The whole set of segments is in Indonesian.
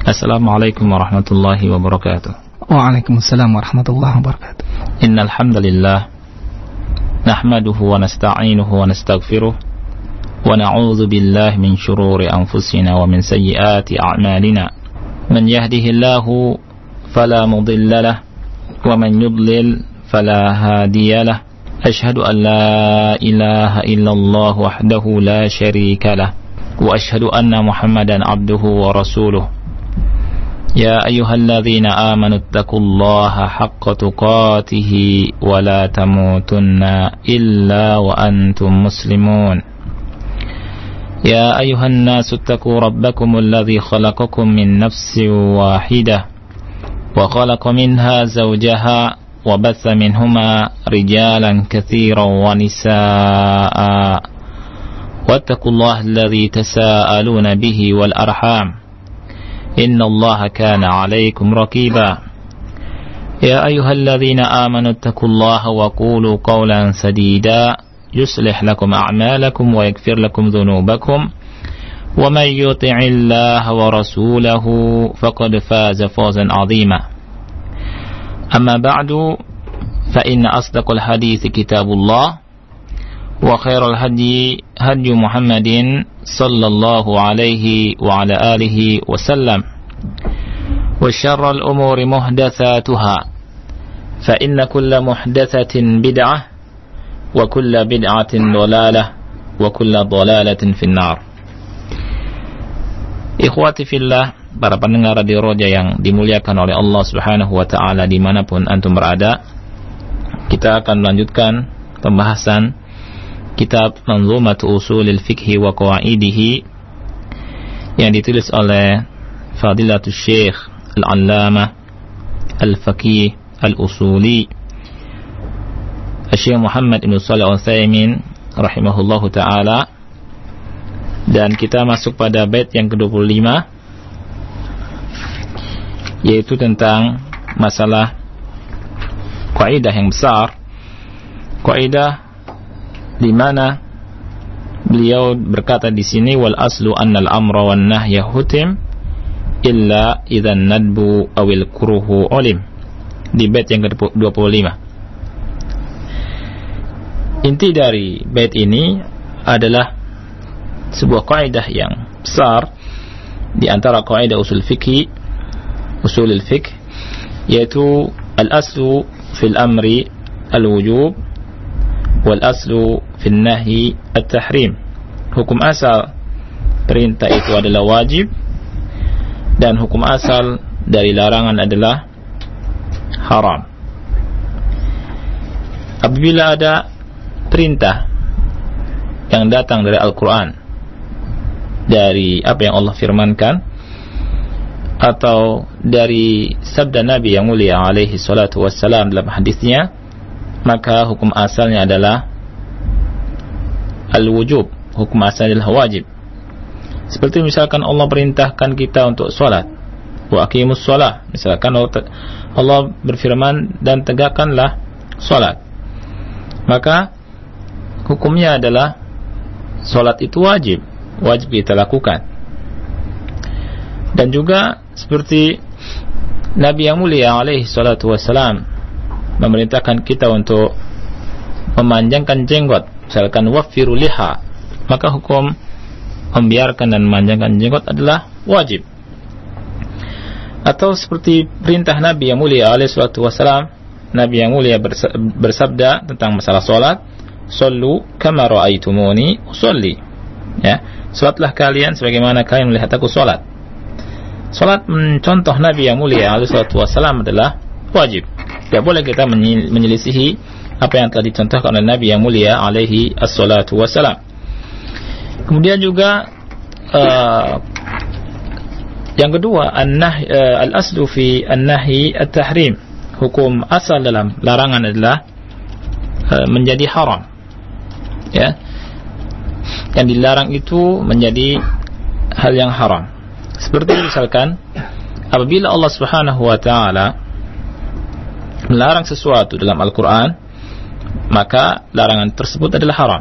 Assalamualaikum warahmatullahi wabarakatuh. Waalaikumsalam warahmatullahi wabarakatuh. Innal hamdalillah nahmaduhu wa nasta'inuhu wa nastaghfiruh wa na'udzu billahi min shururi anfusina wa min sayyiati a'malina. Man yahdihillahu fala mudilla lahu wa man yudlil fala hadiya lahu. Ashhadu an la ilaha illallah wahdahu la syarika lahu wa ashhadu anna Muhammadan abduhu wa rasuluh. Ya ayyuhalladzina amanu taqullaha haqqa tuqatih wa la tamutunna illa wa antum muslimun. Ya ayyuhan nasu taqu rabbakumul ladzi khalaqakum min nafsin wahidah wa khalaqa minha zawjaha wa batha minhuma rijalan katsiran wa nisaa'a wattaqullaha alladzi tasaaluna bihi wal arham. Inna Allah kana alaikum raqiba. Ya ayyuhalladzina amanu taqullaha wa qulu qawlan sadida yuslih lakum a'malakum wa yaghfir lakum dhunubakum wa man yuti'illaha wa rasulahu faqad faza fawzan 'azima. Amma ba'du fa inna asdaqal hadithi kitabullah wa khairal hadi hadi Muhammadin sallallahu alaihi wa ala alihi wa sallam wa syarral umuri muhdatsatuha fa inna kulla muhdatsatin bid'ah wa kulla bid'atin dhalalah wa kulla dhalalatin finnar. Ikhwati fillah, para pendengar Radio Roja yang dimuliakan oleh Allah Subhanahu wa taala dimanapun antum berada, kita akan melanjutkan pembahasan kitab Manzumatu Ushulil Fiqh wa Qawaidihi yang ditulis oleh Fadilatul Syekh Al-Allamah Al-Faqih Al-Usuli Syekh Muhammad Ibn Shalih Al-Utsaimin rahimahullahu ta'ala. Dan kita masuk pada bait yang ke-25, yaitu tentang masalah kaidah yang besar, kaidah di mana beliau berkata di sini wal aslu annal amra wan nahya hutim illa idzan nadbu awil kuruhu ulim, di bait yang ke-25. Inti dari bait ini adalah sebuah kaidah yang besar di antara kaidah usulul fiqh, yaitu al aslu fil amri al wujub wal aslu fil nahi at-tahrim. Hukum asal perintah itu adalah wajib dan hukum asal dari larangan adalah haram. Apabila ada perintah yang datang dari Al-Quran, dari apa yang Allah firmankan, atau dari sabda Nabi yang mulia alaihi salatu wassalam dalam hadisnya, maka hukum asalnya adalah al-wujub, hukum asalnya adalah wajib. Seperti misalkan Allah perintahkan kita untuk sholat, wa aqimus sholah, misalkan Allah berfirman dan tegakkanlah sholat, maka hukumnya adalah sholat itu wajib kita lakukan. Dan juga seperti Nabi yang mulia alaihi salatu wassalam memerintahkan kita untuk memanjangkan jenggot, misalkan waffiru liha, maka hukum membiarkan dan memanjangkan jenggot adalah wajib. Atau seperti perintah Nabi yang mulia alaihi salatu wassalam, Nabi yang mulia bersabda tentang masalah salat, sallu kama ra'aitumuni usolli, ya, salatlah kalian sebagaimana kalian melihat aku salat. Salat mencontoh Nabi yang mulia alaihi salatu wassalam adalah wajib. Tidak boleh kita menyelisihi apa yang telah dicontohkan oleh Nabi yang mulia alaihi assalatu wassalam. Kemudian juga yang kedua, al-aslu fi an-nahi at-tahrim. Hukum asal dalam larangan adalah menjadi haram, ya. Yang dilarang itu menjadi hal yang haram. Seperti misalkan apabila Allah Subhanahu wa taala melarang sesuatu dalam Al-Quran, maka larangan tersebut adalah haram.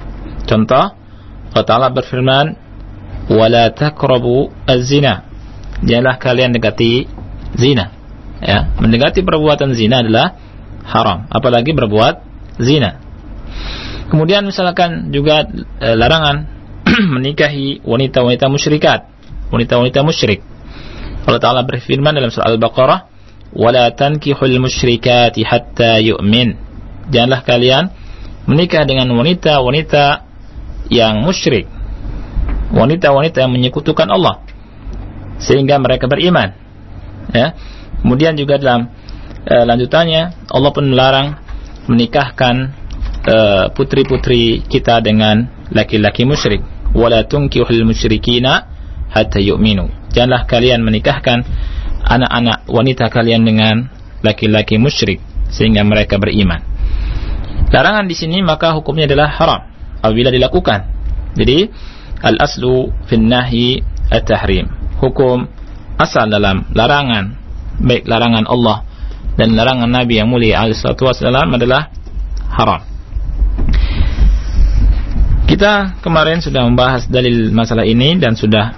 Contoh, Allah Ta'ala berfirman, وَلَا تَقْرَبُوا الزِّنَا, janganlah kalian dekati zina. Ya, mendekati perbuatan zina adalah haram, apalagi berbuat zina. Kemudian misalkan juga larangan menikahi wanita-wanita musyrikat, wanita-wanita musyrik. Allah Ta'ala berfirman dalam surah Al-Baqarah, "Wala tankihul musyrikati hatta yu'min." Janganlah kalian menikah dengan wanita-wanita yang musyrik, wanita-wanita yang menyekutukan Allah, sehingga mereka beriman. Ya. Kemudian juga dalam lanjutannya Allah pun melarang menikahkan putri-putri kita dengan laki-laki musyrik. Wala tunkihul musyrikina hatta yu'minu. Janganlah kalian menikahkan anak-anak wanita kalian dengan laki-laki musyrik sehingga mereka beriman. Larangan di sini maka hukumnya adalah haram apabila dilakukan. Jadi al-aslu fin nahyi at-tahrim. Hukum asal dalam larangan, baik larangan Allah dan larangan Nabi yang mulia alaihi salatu wasallam adalah haram. Kita kemarin sudah membahas dalil masalah ini dan sudah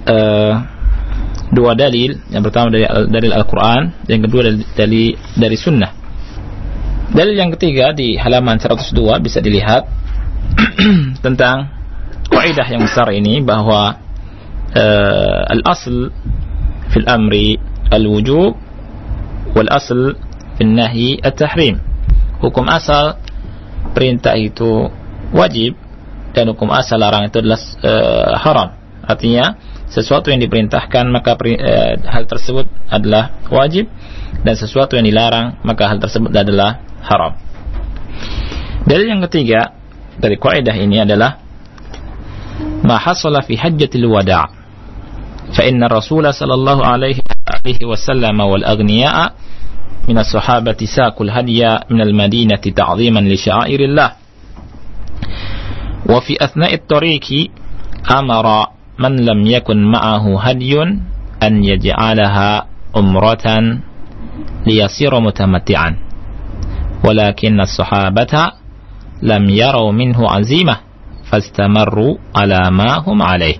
dua dalil. Yang pertama dari Al-Quran, yang kedua dari Sunnah. Dalil yang ketiga di halaman 102 bisa dilihat tentang kaidah yang besar ini, bahwa al-asl fil amri al-wujub wal asl fil nahyi at-tahrim. Hukum asal perintah itu wajib dan hukum asal larang itu adalah haram. Artinya sesuatu yang diperintahkan maka hal tersebut adalah wajib, dan sesuatu yang dilarang maka hal tersebut adalah haram. Dalil yang ketiga dari kaidah ini adalah ma hasala fi hajjatil wada', fa inna Rasul sallallahu alaihi wasallam wal aghniya min as-sahabati saqul hadiya min al-Madinati ta'ziman li sya'airillah, wa fi athna'i at-tariqi amara man lam yakun ma'ahu hadyun an yaj'alaha umratan liyasira mutamatti'an, walakin as-sahabata lam yaraw minhu azimah fastamarru ala ma hum alaih.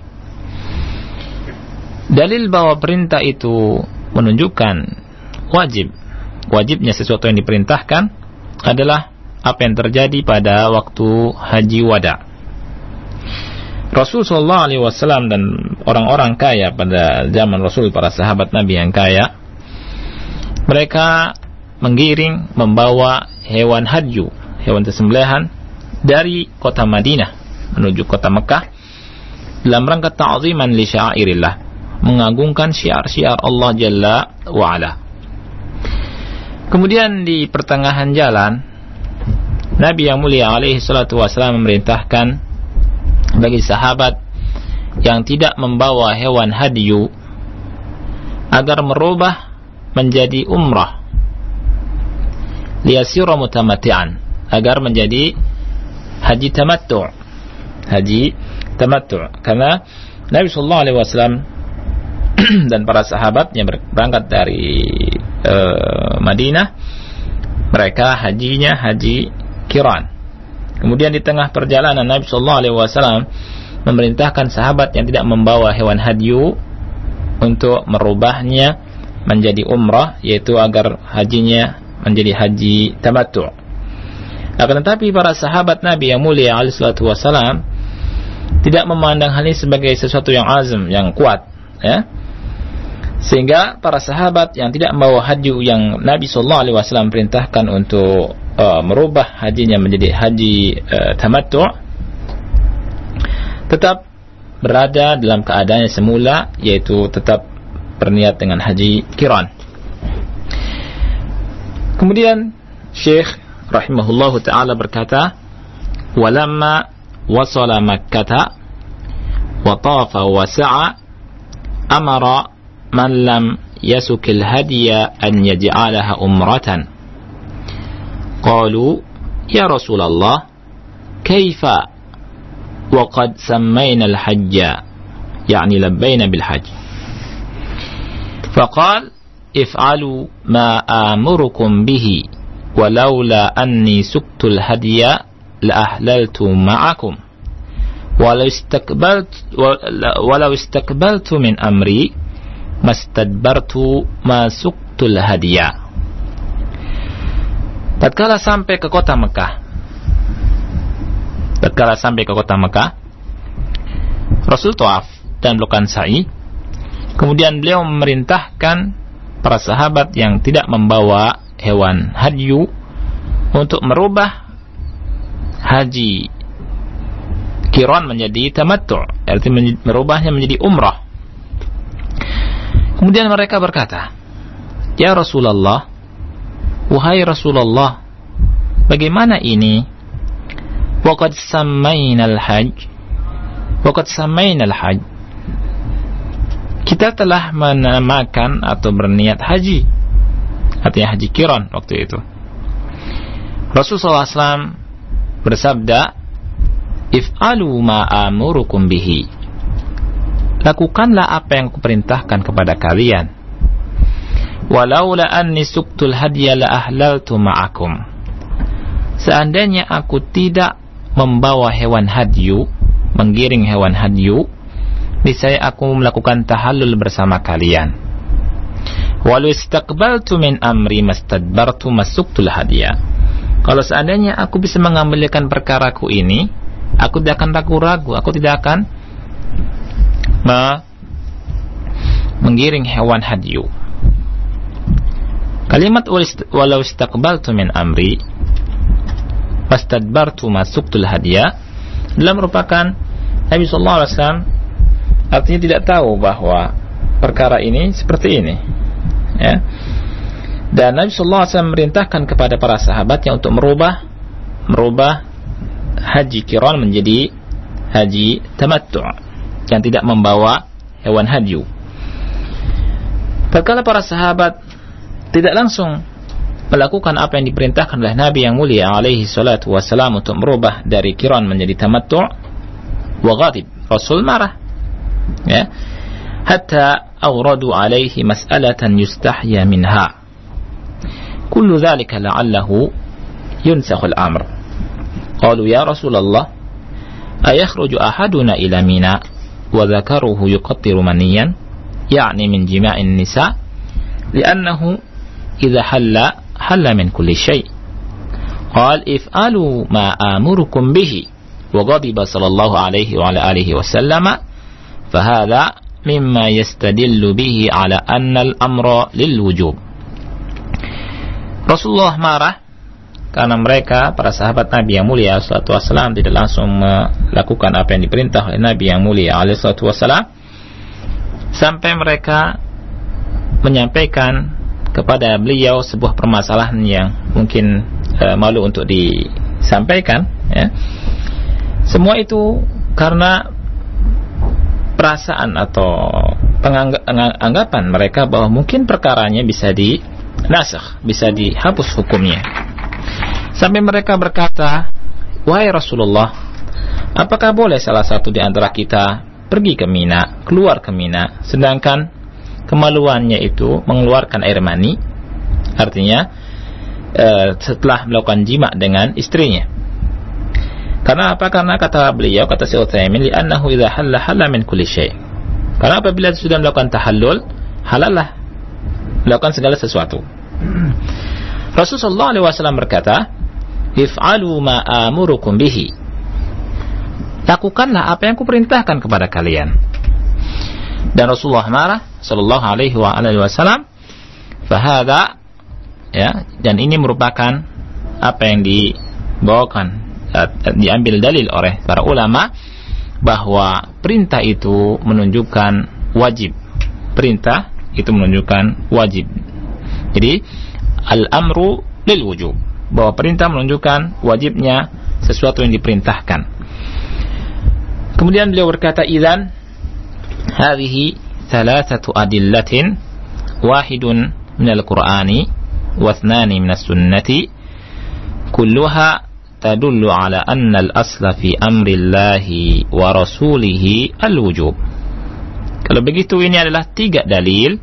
Dalil bahwa perintah itu menunjukkan wajibnya sesuatu yang diperintahkan adalah apa yang terjadi pada waktu haji wada. Rasul sallallahu alaihi wasallam dan orang-orang kaya pada zaman Rasul, para sahabat Nabi yang kaya, mereka menggiring, membawa hewan hadyu, hewan sembelihan dari kota Madinah menuju kota Mekah dalam rangka ta'ziman li sya'airillah, mengagungkan syiar-syiar Allah Jalla wa Ala. Kemudian di pertengahan jalan, Nabi yang mulia alaihi salatu wasallam memerintahkan bagi sahabat yang tidak membawa hewan hadyu agar merubah menjadi umrah, liyasira mutamatti'an, agar menjadi haji tamattu'. Karena Nabi sallallahu alaihi wasallam dan para sahabatnya berangkat dari Madinah, mereka hajinya haji qiran. Kemudian di tengah perjalanan Nabi sallallahu alaihi wasallam memerintahkan sahabat yang tidak membawa hewan hadyu untuk merubahnya menjadi umrah, yaitu agar hajinya menjadi haji tamattu'. Akan tetapi para sahabat Nabi yang mulia alaihi salatu wasallam tidak memandang hal ini sebagai sesuatu yang azam, yang kuat, ya. Sehingga para sahabat yang tidak membawa hadyu yang Nabi sallallahu alaihi wasallam perintahkan untuk merubah hajinya menjadi haji tamattu', tetap berada dalam keadaannya semula, yaitu tetap berniat dengan haji qiran. Kemudian Syekh rahimahullahu ta'ala berkata, walamma wasala Makkah wa tafa wa sa'a amara man lam yasukil hadiya an yaj'alaha umratan. Qalu ya Rasulullah kaifa wa qad sammayna al-hajja, yani labbayna bil hajj. Faqal if'alu ma amurukum bihi walaula anni suktul hadiya la ahlaltu ma'akum walau istakbaltu min amri mastadbartu ma suqtul hadiya. Tatkala sampai ke kota Mekah, Rasul tawaf dan melakukan sa'i. Kemudian beliau memerintahkan para sahabat yang tidak membawa hewan hadyu untuk merubah haji qiran menjadi tamattu', artinya merubahnya menjadi umrah. Kemudian mereka berkata, "Ya Rasulullah, wahai Rasulullah, bagaimana ini? Waqad sammainal hajj. Kita telah menamakan atau berniat haji." Artinya haji qiran waktu itu. Rasulullah SAW bersabda, "If'alu ma amurukum bihi." Lakukanlah apa yang kuperintahkan kepada kalian. "Walaula anni suqtul hadiya la ahlaltu ma'akum." Seandainya aku tidak membawa hewan hadyu, menggiring hewan hadyu, niscaya aku melakukan tahallul bersama kalian. Walau istaqbaltu min amri mastadbartu masuqtul hadiya. Kalau seandainya aku bisa mengambilkan perkaraku ini, aku tidak akan ragu-ragu, aku tidak akan menggiring hewan hadyu. Kalimat walau istaqbaltu min amri mastadbartu masuqtul hadiya adalah merupakan Nabi SAW artinya tidak tahu bahwa perkara ini seperti ini, ya. Dan Nabi SAW memerintahkan kepada para sahabatnya untuk merubah haji qiran menjadi haji tamattu' yang tidak membawa hewan hadyu. Tatkala para sahabat tidak langsung melakukan apa yang diperintahkan oleh Nabi yang mulia alaihi salatu wassalam untuk merubah dari qiran menjadi tamattu', wa ghadib, Rasul marah, ya, hatta awradu alaihi mas'alatan yustahya minha, kullu dhalika la'allahu yunsakhu al-amr. Qalu ya Rasulullah, ayakhruju ahaduna ila Mina wa dhakaruhu yuqattiru maniyan, ya'ni min jima'in nisa, li'annahu idha halla min kulli shay'. Qal if'alu ma amurukum bihi, wa ghadiba sallallahu alaihi wa ala alihi wa sallama, fahadha mimma yastadillu bihi ala anna al-amra lil wujub. Rasulullah marah karena mereka, para sahabat Nabi yang mulia sallallahu alaihi wasallam, tidak langsung melakukan apa yang diperintah oleh Nabi yang mulia alaihi salatu wasallam, sampai mereka menyampaikan kepada beliau sebuah permasalahan yang mungkin malu untuk disampaikan, ya. Semua itu karena perasaan atau anggapan mereka bahwa mungkin perkaranya bisa dinasakh, bisa dihapus hukumnya. Sampai mereka berkata, wahai Rasulullah, apakah boleh salah satu di antara kita pergi ke Mina, keluar ke Mina, sedangkan kemaluannya itu mengeluarkan air mani, artinya setelah melakukan jima dengan istrinya. Karena apa? Karena kata beliau, kata Syekh Utsaimin, li'annahu idza halla min kulli syai'. Karena apabila sudah melakukan tahallul, halallah melakukan segala sesuatu. Rasulullah SAW berkata, if'alu ma amurukum bihi. Lakukanlah apa yang kuperintahkan kepada kalian. Dan Rasulullah marah sallallahu alaihi wa alihi wasallam, fahada, ya, dan ini merupakan apa yang dibawakan, diambil dalil oleh para ulama bahwa perintah itu menunjukkan wajib. Perintah itu menunjukkan wajib. Jadi al-amru lil wujub, bahwa perintah menunjukkan wajibnya sesuatu yang diperintahkan. Kemudian beliau berkata, idzan hadhihi thalathatu adillatin, wahidun minal qur'ani wa ithnani minas sunnati, kulluha tadullu ala anna al-asla fi amrillahi wa rasulihi al-wujub. Kalau begitu, ini adalah 3 dalil,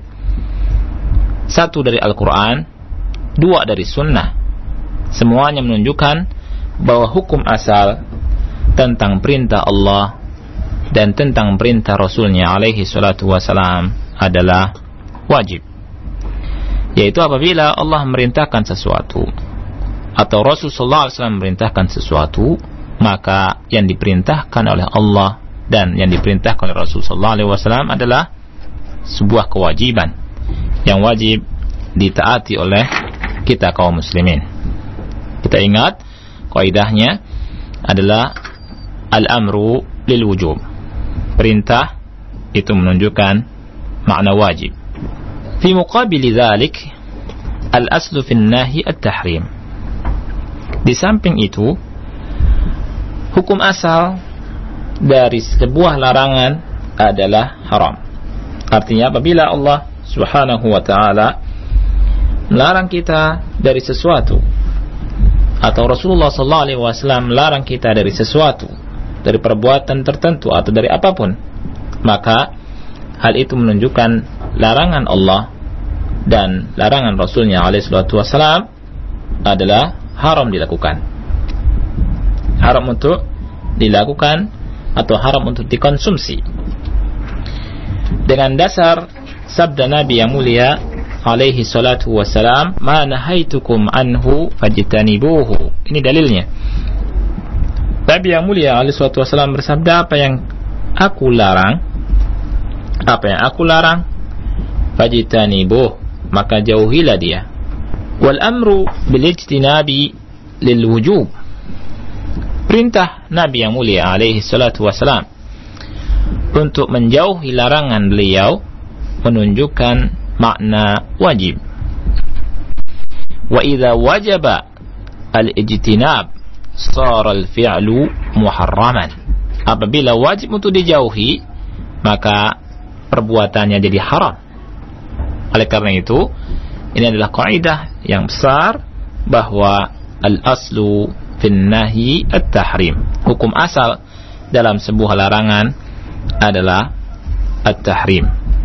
1 dari Al-Quran, 2 dari sunnah. Semuanya menunjukkan bahwa hukum asal tentang perintah Allah dan tentang perintah Rasulnya alaihi salatu wassalam adalah wajib. Yaitu apabila Allah memerintahkan sesuatu atau Rasulullah SAW memerintahkan sesuatu, maka yang diperintahkan oleh Allah dan yang diperintahkan oleh Rasulullah SAW adalah sebuah kewajiban yang wajib ditaati oleh kita kaum muslimin. Kita ingat kaidahnya adalah al-amru lil wujub. Perintah itu menunjukkan makna wajib. Fi muqabili dzalik al-aslu fi an-nahi at-tahrim. Di samping itu, hukum asal dari sebuah larangan adalah haram. Artinya apabila Allah Subhanahu wa ta'ala melarang kita dari sesuatu, atau Rasulullah sallallahu alaihi wasallam melarang kita dari sesuatu, dari perbuatan tertentu atau dari apapun, maka hal itu menunjukkan larangan Allah dan larangan Rasulnya alaihi salatu wasallam adalah haram dilakukan. Haram untuk dilakukan atau haram untuk dikonsumsi. Dengan dasar sabda Nabi yang mulia alaihi salatu wassalam, ma nahaitukum anhu fajtanibuhu. Ini dalilnya. Nabi yang mulia alaihi salatu wassalam bersabda, apa yang aku larang, fajtanibuh, maka jauhilah dia. Wal amru bil ijtinabi lil wujub. Perintah Nabi yang mulia alaihi salatu wassalam untuk menjauhi larangan beliau menunjukkan makna wajib. Wa idza wajaba al-ijtinab shara al-fi'lu muharraman. Apabila wajib untuk dijauhi, maka perbuatannya jadi haram. Oleh karena itu, ini adalah kaidah yang besar bahwa al-aslu fin nahi at-tahrim. Hukum asal dalam sebuah larangan adalah at-tahrim.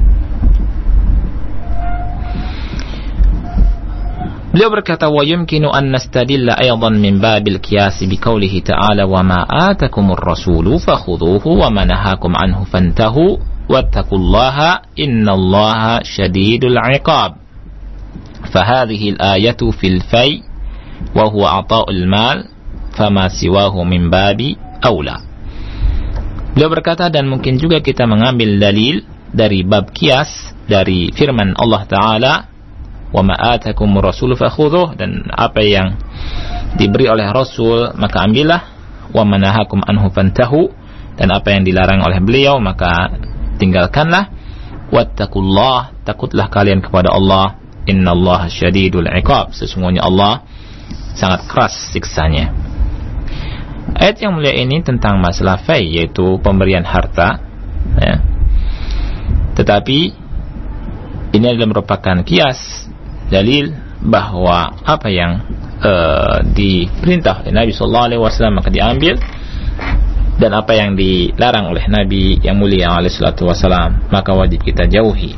Beliau berkata, wa yumkinu an nastadilla aydan min babil qiyas bi qoulihi ta'ala wa ma atakumur rasulu fakhudhuhu wa ma nahakum anhu fantahu wattaqullaha innallaha syadidul 'iqab. Fahadhihi al-ayatu fil fai wa huwa ata'ul mal fama siwahu min babi aula. Beliau berkata, dan mungkin juga kita mengambil dalil dari bab qiyas dari firman Allah Ta'ala, wa ma atakumur rasul fakhudhuh, dan apa yang diberi oleh Rasul maka ambillah, wa manahakum anhu fantahu, dan apa yang dilarang oleh beliau maka tinggalkanlah. Wattaqullah, takutlah kalian kepada Allah, innallaha syadidul 'iqab, sesungguhnya Allah sangat keras siksanya. Ayat yang mulia ini tentang masalah fai, yaitu pemberian harta, ya. Tetapi ini adalah merupakan kias, dalil bahwa apa yang diperintah oleh Nabi SAW maka diambil, dan apa yang dilarang oleh Nabi yang mulia SAW maka wajib kita jauhi.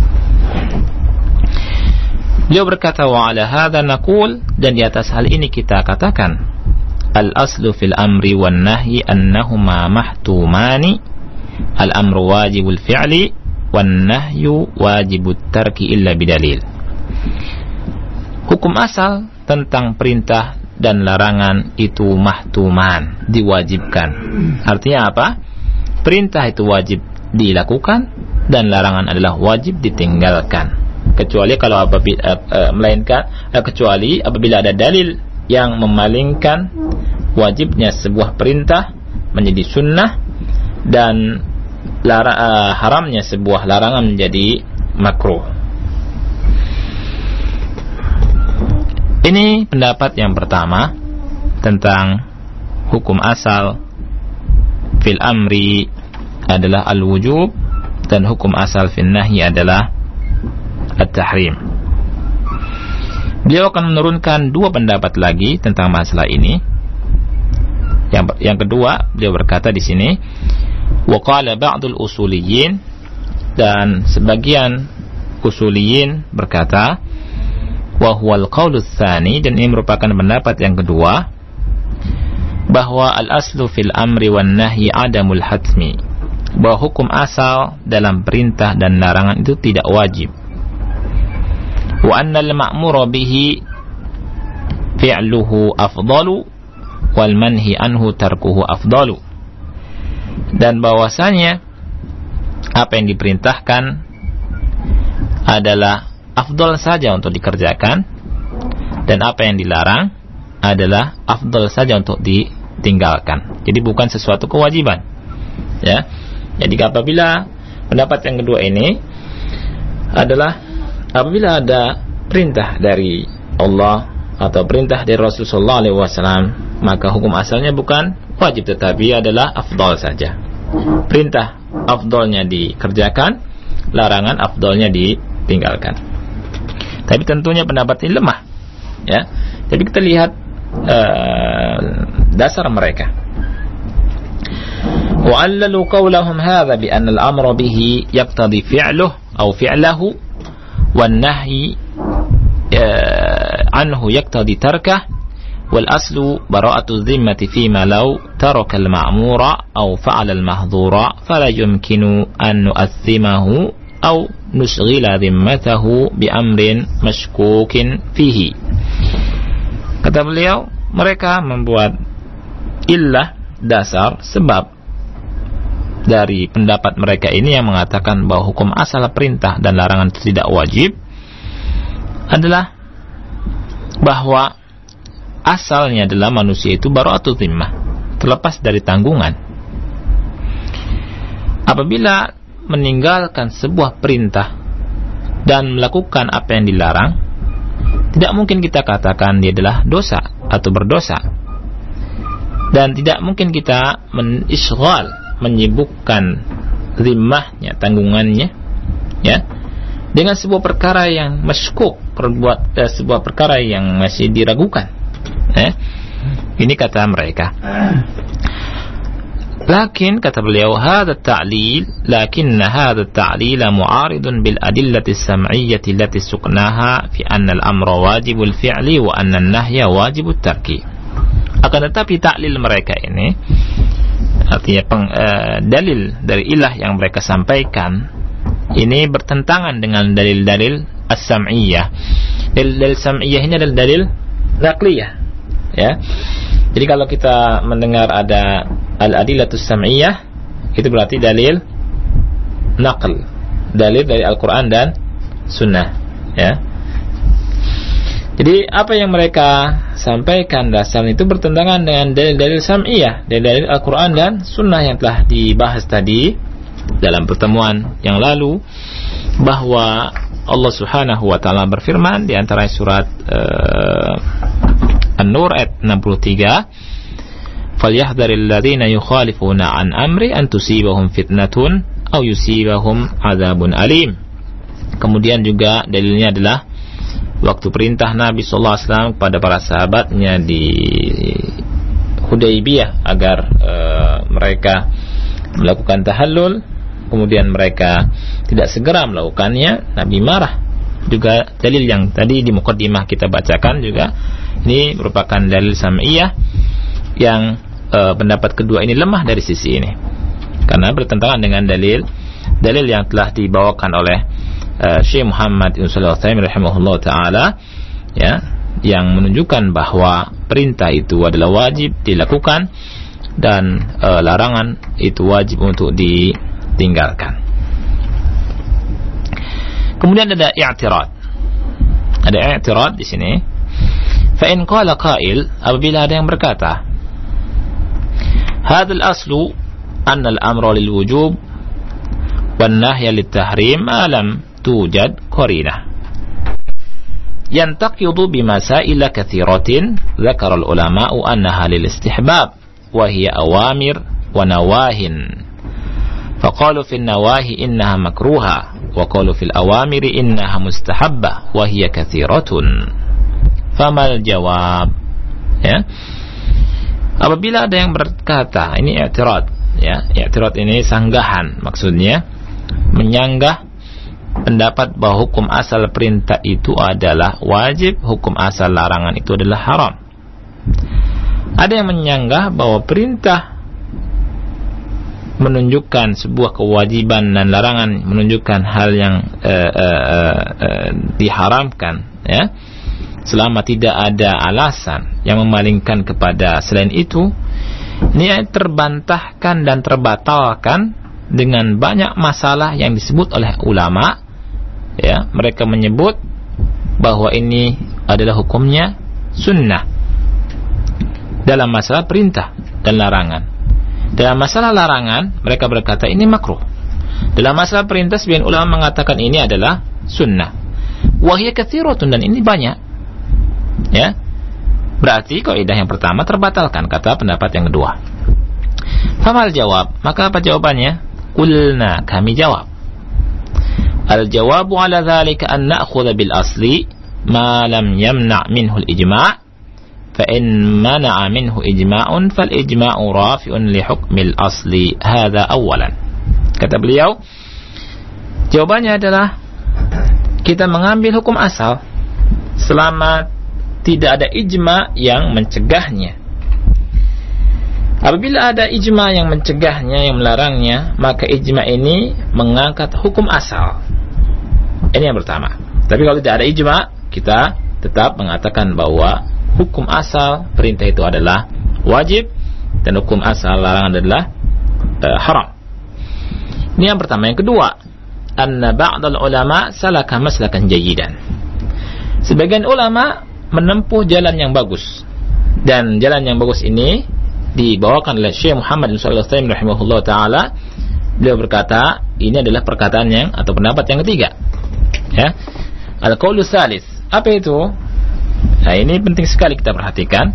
Beliau berkata, wa ala hadha naqul, dan di atas hal ini kita katakan, al-aslu fil amri wan nahyi annahuma mahtumani, al-amru wajibul fi'li wan nahyu wajibut tarki illa bidalil. Hukum asal tentang perintah dan larangan itu mahtuman, diwajibkan. Artinya apa? Perintah itu wajib dilakukan dan larangan adalah wajib ditinggalkan. Kecuali kecuali apabila ada dalil yang memalingkan wajibnya sebuah perintah menjadi sunnah dan haramnya sebuah larangan menjadi makruh. Ini pendapat yang pertama tentang hukum asal fil amri adalah al-wujub, dan hukum asal fil nahyi adalah at-tahrim. Beliau akan menurunkan dua pendapat lagi tentang masalah ini. Yang kedua, beliau berkata di sini, wa qala ba'dul usuliyyin, dan sebagian usuliyyin berkata, wa huwal qaulus tsani, dan ini merupakan pendapat yang kedua, bahwa al-aslu fil amri wan nahyi adamul hatmi, bahwa hukum asal dalam perintah dan larangan itu tidak wajib. wa anna al-ma'mura bihi fi'luhu afdalu wal manhi anhu tarkuhu afdalu. Dan bahwasanya apa yang diperintahkan adalah afdal saja untuk dikerjakan, dan apa yang dilarang adalah afdal saja untuk ditinggalkan. Jadi bukan sesuatu kewajiban, ya. Jadi apabila pendapat yang kedua ini adalah apabila ada perintah dari Allah atau perintah dari Rasulullah SAW, maka hukum asalnya bukan wajib tetapi adalah afdal saja. Perintah afdalnya dikerjakan, larangan afdalnya ditinggalkan. Tapi tentunya pendapat ini lemah, ya. Tapi kita lihat dasar mereka. وعللوا قولهم هذا بأن الأمر به يقتضي فعله أو فعله والنهي عنه يقتضي تركه والأصل براءة الذمة فيما لو ترك المأمور أو فعل المحظور فلا يمكن أن نؤثمه أو نشغل ذمته بأمر مشكوك فيه. Kata beliau, mereka membuat illah, dasar, sebab dari pendapat mereka ini yang mengatakan bahwa hukum asal perintah dan larangan itu tidak wajib adalah bahwa asalnya adalah manusia itu bara'atul zimmah, terlepas dari tanggungan. Apabila meninggalkan sebuah perintah dan melakukan apa yang dilarang, tidak mungkin kita katakan dia adalah dosa atau berdosa, dan tidak mungkin kita menyibukkan zimmahnya, tanggungannya, ya, dengan sebuah perkara yang masykuk, sebuah perkara yang masih diragukan. Ini kata mereka. Lakin kata beliau, hadha ta'lil, lakinna hadha ta'lil mu'aridun bil adillati as-sam'iyyati allati suqnaha fi anna al-amra wajibul fi'li wa anna an-nahya wajibut tarki. Akan tetapi taklil mereka ini, artinya dalil dari ilah yang mereka sampaikan ini bertentangan dengan dalil-dalil as-sam'iyyah. Dalil sam'iyyah ini adalah dalil naqliyah, ya. Jadi kalau kita mendengar ada al-adillatus sam'iyyah, itu berarti dalil naql, dalil dari Al-Quran dan Sunnah, ya. Jadi apa yang mereka sampaikan dasar itu bertentangan dengan dalil-dalil sam'iyah, dalil Al-Quran dan Sunnah yang telah dibahas tadi dalam pertemuan yang lalu, bahwa Allah Subhanahu wa taala berfirman di antara surat An-Nur ayat 63, "Falyahdharil ladzina yukhalifuna an amri an tusibahum fitnatun aw yusibahum adzabun alim." Kemudian juga dalilnya adalah waktu perintah Nabi sallallahu alaihi wasallam kepada para sahabatnya di Hudaybiyah agar mereka melakukan tahallul, kemudian mereka tidak segera melakukannya, Nabi marah. Juga dalil yang tadi di muqaddimah kita bacakan juga, ini merupakan dalil sam'iyah yang pendapat kedua ini lemah dari sisi ini, karena bertentangan dengan dalil yang telah dibawakan oleh Syekh Muhammad bin Shalih Al-Utsaimin rahimahullah taala, ya, yang menunjukkan bahwa perintah itu adalah wajib dilakukan dan larangan itu wajib untuk ditinggalkan. Kemudian ada i'tirad. Ada i'tirad di sini. Fa in qala qail, apabila ada yang berkata, hadzal aslu anna al-amra lil wujub wan nahya lit tahrim ma lam tujad qarinah. Yantaqidu bimasail katsiratin dzakara al-ulama'u annaha lil istihbab wa hiya awamir wa nawahin. فقالوا في النواهي إنها مكروهة وقالوا في الأوامر إنها مستحبة وهي كثيرة فما الجواب, ya. Apabila ada yang berkata, ini i'tirad, ya, i'tirad ini sanggahan, maksudnya menyanggah pendapat bahwa hukum asal perintah itu adalah wajib, hukum asal larangan itu adalah haram. Ada yang menyanggah bahwa perintah menunjukkan sebuah kewajiban dan larangan menunjukkan hal yang diharamkan, ya, selama tidak ada alasan yang memalingkan kepada selain itu, ini terbantahkan dan terbatalkan dengan banyak masalah yang disebut oleh ulama, ya. Mereka menyebut bahwa ini adalah hukumnya sunnah dalam masalah perintah dan larangan. Dalam masalah larangan mereka berkata ini makruh. Dalam masalah perintah sebagian ulama mengatakan ini adalah sunnah. Wa hiya katsiratun, dan ini banyak. Ya. Berarti kaidah yang pertama terbatalkan, kata pendapat yang kedua. Famal jawab, maka apa jawabannya? Qulna, kami jawab. Al-jawabu ala dzalika an na'khudha bil asli ma lam yamna' minhu al-ijma'. فإن منع منه إجماع فالإجماع رافع لحكم الأصل هذا أولا. Kata beliau, jawabannya adalah kita mengambil hukum asal selama tidak ada ijma yang mencegahnya. Apabila ada ijma yang mencegahnya, yang melarangnya, maka ijma ini mengangkat hukum asal. Ini yang pertama. Tapi kalau tidak ada ijma, kita tetap mengatakan bahwa hukum asal perintah itu adalah wajib dan hukum asal larangan adalah haram. Ini yang pertama. Yang kedua, anna ba'dal ulama salaka maslakan jayyidan. Sebagian ulama menempuh jalan yang bagus, dan jalan yang bagus ini dibawakan oleh Syekh Muhammad bin Shalih Al-Utsaimin rahimahullah taala. Beliau berkata, ini adalah perkataan yang atau pendapat yang ketiga. Ya. Al-qaulu tsalits. Apa itu? Nah, ini penting sekali kita perhatikan.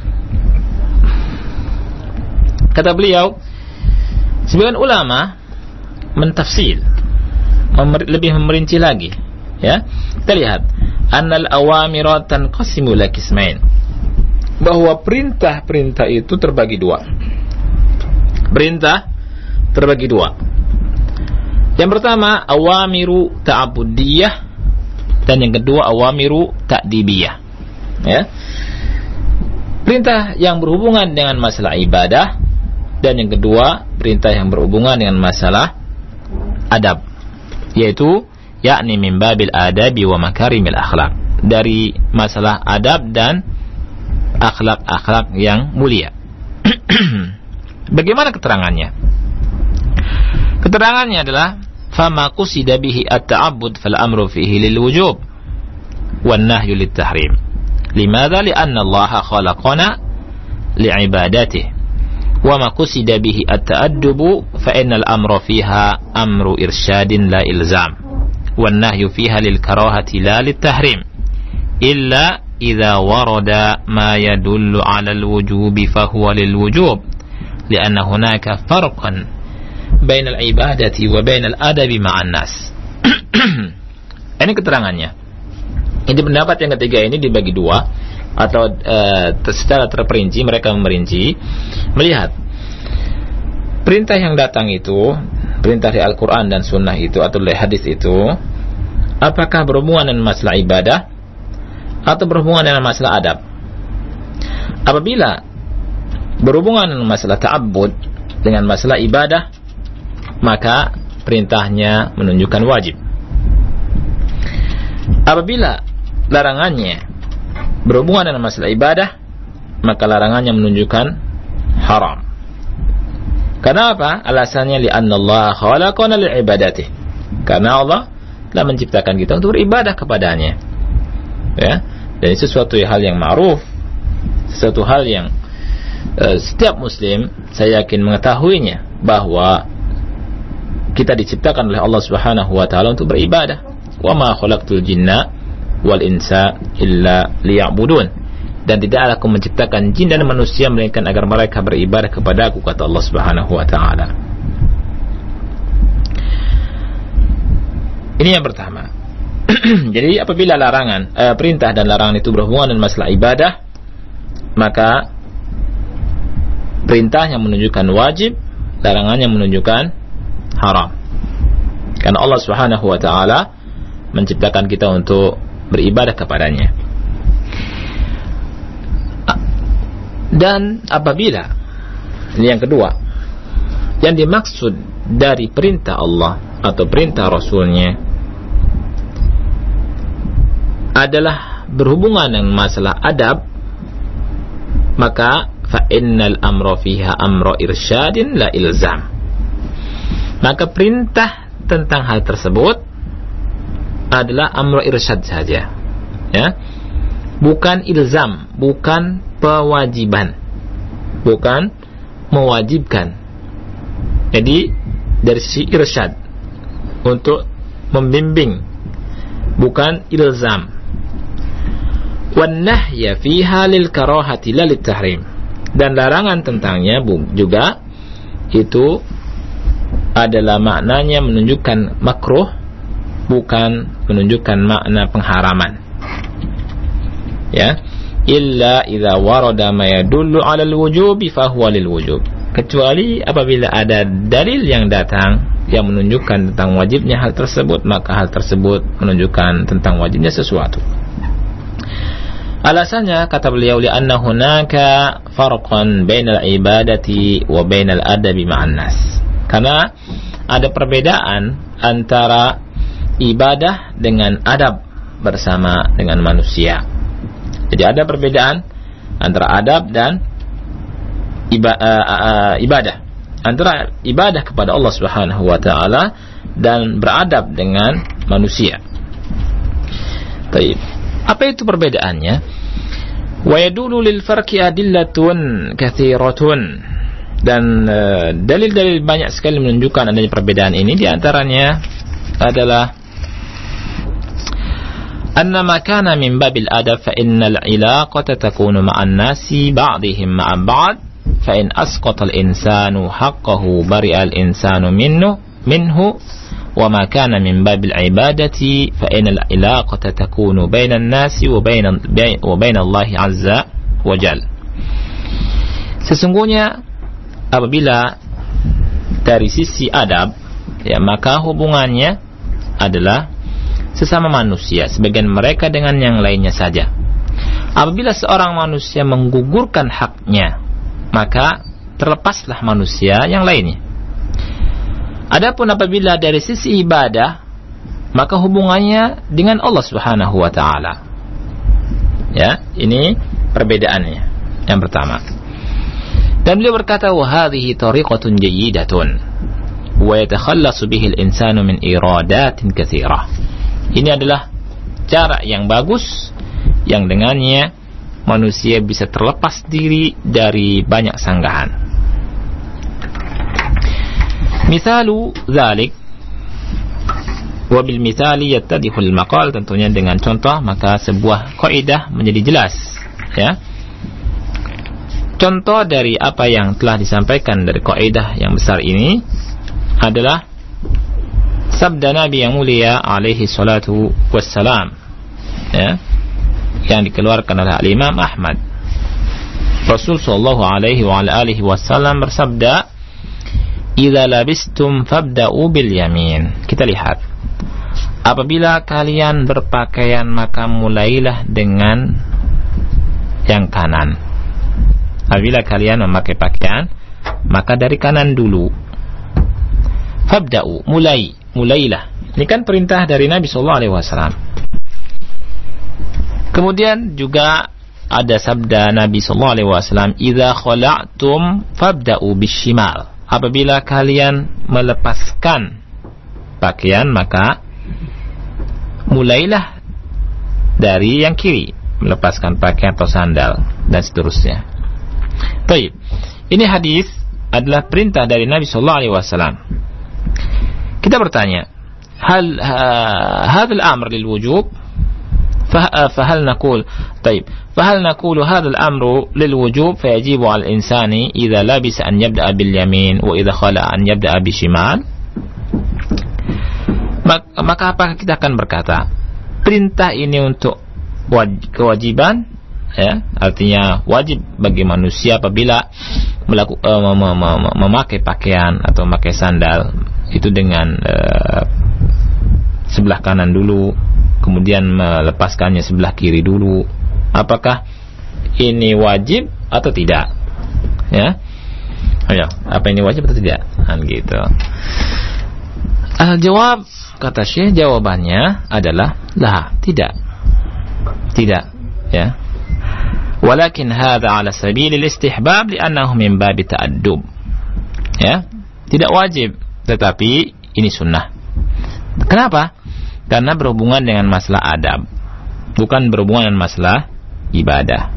Kata beliau, sebagian ulama mentafsil, lebih merinci lagi, ya. Kita lihat, annal awamira tanqasimu ila qismain, bahwa perintah-perintah itu terbagi dua. Perintah terbagi dua. Yang pertama, awamiru ta'budiyah, dan yang kedua awamiru ta'dibiyah. Ya. Perintah yang berhubungan dengan masalah ibadah, dan yang kedua perintah yang berhubungan dengan masalah adab, yaitu yakni min babil adabi wa makarimil akhlak, dari masalah adab dan akhlak-akhlak yang mulia. Bagaimana keterangannya? Keterangannya adalah fama qusida bihi at-ta'abbud fal amru fihi lil wujub wan nahyu lit tahrim. Limadha? Lianna Allah khalaqana li'ibadatihi. Wa ma qusida bihi at-ta'addubu fa innal amra fiha amru irsyadin la ilzam. Wan nahyu fiha lil karahati la lit tahrim. Illa idza warada ma yadullu 'ala al-wujubi fa huwa lil wujub. Lianna hunaka farqan bainal ibadati wa bainal adabi ma'an nas. Ini keterangannya. Ini pendapat yang ketiga ini dibagi dua, atau secara terperinci mereka merinci, melihat perintah yang datang itu, perintah dari Al-Quran dan Sunnah itu atau dari hadis itu, apakah berhubungan dengan masalah ibadah atau berhubungan dengan masalah adab. Apabila berhubungan dengan masalah ta'abbud, dengan masalah ibadah, maka perintahnya menunjukkan wajib. Apabila larangannya berhubungan dengan masalah ibadah, maka larangannya menunjukkan haram. Karena apa? Alasannya li'anna Allah khalaqana li'ibadatihi. Karena Allah telah menciptakan kita untuk beribadah kepadanya. Ya, dan itu sesuatu hal yang ma'ruf, sesuatu hal yang setiap muslim saya yakin mengetahuinya, bahwa kita diciptakan oleh Allah Subhanahu wa taala untuk beribadah. Wa ma khalaqtul jinna wal insa illa liya'budun, dan tidaklah aku menciptakan jin dan manusia melainkan agar mereka beribadah kepada aku, kata Allah Subhanahu wa taala. Ini yang pertama. Jadi apabila perintah dan larangan itu berhubungan dengan masalah ibadah, maka perintahnya menunjukkan wajib, larangannya menunjukkan haram. Karena Allah Subhanahu wa taala menciptakan kita untuk beribadah kepadanya. Dan apabila, ini yang kedua, Yang dimaksud dari perintah Allah atau perintah Rasulnya adalah berhubungan dengan masalah adab, maka fa innal amra fiha amra irsyadin la ilzam. Maka perintah tentang hal tersebut adalah amra irsyad saja, ya, bukan ilzam, bukan pewajiban, bukan mewajibkan. Jadi dari sisi irsyad, untuk membimbing, bukan ilzam. Wan nahya fiha lil karahati la lit tahrim. Dan larangan tentangnya juga itu adalah maknanya menunjukkan makruh, bukan menunjukkan makna pengharaman. Ya, illa idza warada ma yadullu 'ala al-wujubi fa huwa lil wujub. Kecuali apabila ada dalil yang datang yang menunjukkan tentang wajibnya hal tersebut, maka hal tersebut menunjukkan tentang wajibnya sesuatu. Alasannya, kata beliau, li'anna hunaka farqan bainal ibadati wa bainal adabi ma'an nas. Karena ada perbedaan antara ibadah dengan adab bersama dengan manusia. Jadi ada perbedaan antara adab dan ibadah, antara ibadah kepada Allah Subhanahu wa taala dan beradab dengan manusia. Baik. Apa itu perbedaannya? Wa yadullu lil farqi adillatun katsiratun. Dan dalil-dalil banyak sekali menunjukkan adanya perbedaan ini. Di antaranya adalah anna ma kana min babil adab fa innal ilaqata takunu ma'an nasi ba'dihim ma'a ba'd fa in asqata al insanu haqqahu bari'a al insanu minhu wa ma kana min babil ibadati fa innal ilaqata takunu bainan nasi wa bain Allah azza wa jalla. Sesungguhnya apabila dari sisi adab, ya, maka hubungannya adalah sesama manusia, sebagian mereka dengan yang lainnya saja. Apabila seorang manusia menggugurkan haknya, maka terlepaslah manusia yang lainnya. Adapun apabila dari sisi ibadah, maka hubungannya dengan Allah Subhanahu wa taala. Ya, ini perbedaannya yang pertama. Dan beliau berkata, wa hadhihi tariqatun jayyidatun wa yatakhallasu bihi al-insanu min iradatin katsirah. Ini adalah cara yang bagus yang dengannya manusia bisa terlepas diri dari banyak sanggahan. Misalu dzalik wa bil mithali yattadihu al maqal, tentunya dengan contoh maka sebuah kaidah menjadi jelas, ya. Contoh dari apa yang telah disampaikan dari kaidah yang besar ini adalah sabda Nabi yang mulia alaihi salatu wassalam, ya, yang dikeluarkan oleh Imam Ahmad. Rasul sallallahu alaihi wa alihi wasallam bersabda, "Idza labistum fabda'u bil yamin." Kita lihat, apabila kalian berpakaian maka mulailah dengan yang kanan. Apabila kalian memakai pakaian maka dari kanan dulu. Fabda'u, mulailah. Ini kan perintah dari Nabi sallallahu alaihi wasallam. Kemudian juga ada sabda Nabi sallallahu alaihi wasallam, "Idza khala'tum fabda'u bishimal." Apabila kalian melepaskan pakaian maka mulailah dari yang kiri, melepaskan pakaian atau sandal dan seterusnya. Baik. Ini hadis adalah perintah dari Nabi sallallahu alaihi wasallam. Kita bertanya, hal hadzal amr lil wujub? فهل نقول طيب فهل نقول هذا الأمر للوجوب فيجب على الإنسان إذا لبس أن يبدأ باليمين وإذا خلع أن يبدأ بالشمال? Maka apakah kita akan berkata perintah ini untuk kewajiban, ya, artinya wajib bagi manusia apabila memakai pakaian atau memakai sandal itu dengan sebelah kanan dulu, kemudian melepaskannya sebelah kiri dulu. Apakah ini wajib atau tidak? Ya, ayo, apa ini wajib atau tidak? Kan gitu. Jawab, kata Syekh, jawabannya adalah la, tidak, ya. Walakin hadza ala sabilil istihbab li'annahu min babi ta'addub. Ya, tidak wajib, tetapi ini sunnah. Kenapa? Karena berhubungan dengan masalah adab, bukan berhubungan dengan masalah ibadah.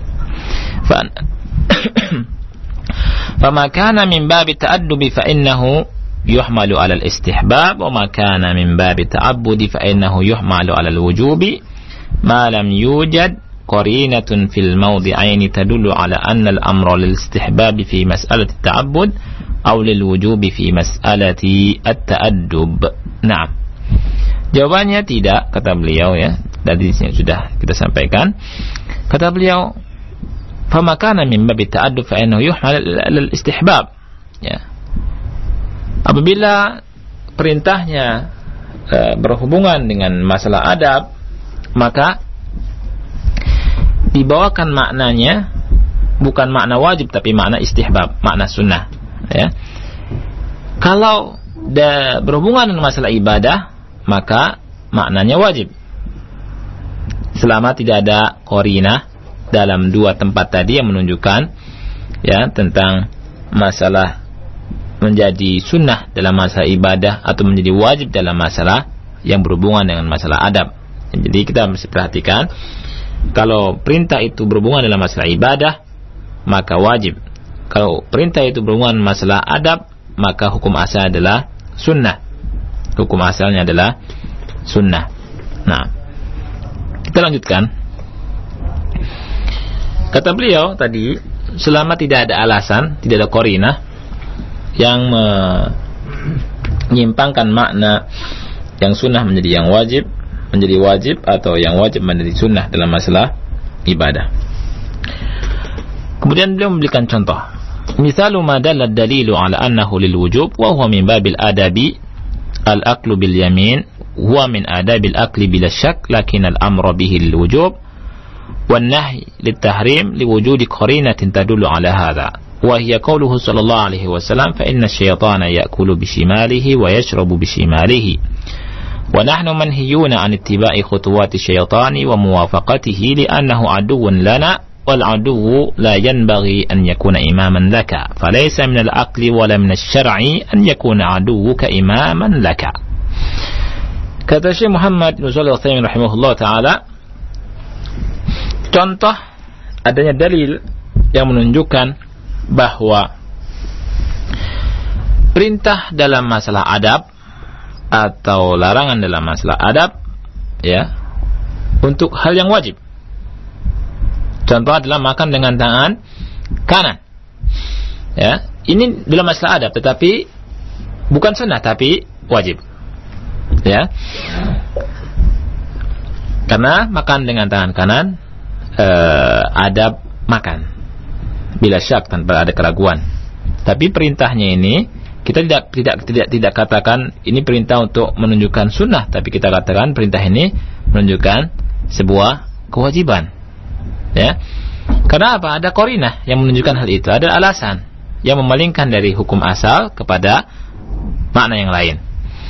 Fama kana min babi ta'addubi fa innahu yuhmalu 'ala al-istihbab wa ma kana min babi ta'abbudi fa innahu yuhmalu 'ala al-wujubi ma lam yujad qarinatun fil mawdi'aini tadullu 'ala anna al-amra lil-istihbab fi mas'alati at-ta'abbud aw lil-wujubi fi mas'alati at-ta'addub. Nah, jawabannya tidak, kata beliau, ya. Tadi sudah kita sampaikan. Kata beliau, fama kana min babi ta'addub fa innahu yuhmal al-istihbab. Ya. Apabila perintahnya berhubungan dengan masalah adab, maka dibawakan maknanya bukan makna wajib tapi makna istihbab, makna sunnah, ya. Kalau berhubungan dengan masalah ibadah, maka maknanya wajib. Selama tidak ada qarinah dalam dua tempat tadi yang menunjukkan, ya, tentang masalah menjadi sunnah dalam masalah ibadah atau menjadi wajib dalam masalah yang berhubungan dengan masalah adab. Jadi kita mesti perhatikan, kalau perintah itu berhubungan dalam masalah ibadah, maka wajib. Kalau perintah itu berhubungan dengan masalah adab, maka hukum asal adalah sunnah. Hukum asalnya adalah sunnah. Nah, kita lanjutkan. Kata beliau tadi, selama tidak ada alasan, tidak ada qarinah yang menyimpangkan makna yang sunnah menjadi yang wajib, atau yang wajib menjadi sunnah dalam masalah ibadah. Kemudian beliau memberikan contoh. Misalu ma dalla ad-dalilu ala annahu lil wujub wa huwa min babil adabi al-aklu bil yamin huwa min adabil akli bila syak lakin al-amra bihi lil wujub wan nahy lit tahrim li wujudi qarinatin tadullu ala hadha wa hiya qawluhu sallallahu alaihi wasallam fa inna asy-syaitana ya'kulu bi shimalihi wa yashrabu bi shimalihi wa nahnu manhiyuna an ittiba'i khutuwati syaitani wa muwafaqatihi li annahu aduwwun lana wal aduwwu la yanbaghi an yakuna imaman laka falaysa min al-aqli wala min asy-syar'i an yakuna aduwwuka imaman laka. Kata Syekh Muhammad bin Shalih Al-Utsaimin rahimahullah taala, contoh adanya dalil yang menunjukkan bahwa perintah dalam masalah adab atau larangan dalam masalah adab, ya, untuk hal yang wajib. Contoh adalah makan dengan tangan kanan. Ya, ini dalam masalah adab, tetapi bukan sunnah, tapi wajib. Ya, karena makan dengan tangan kanan adab makan, bila syak, tanpa ada keraguan. Tapi perintahnya ini kita tidak katakan ini perintah untuk menunjukkan sunnah, tapi kita katakan perintah ini menunjukkan sebuah kewajiban. Ya, karena apa? Ada qarinah yang menunjukkan hal itu, ada alasan yang memalingkan dari hukum asal kepada makna yang lain.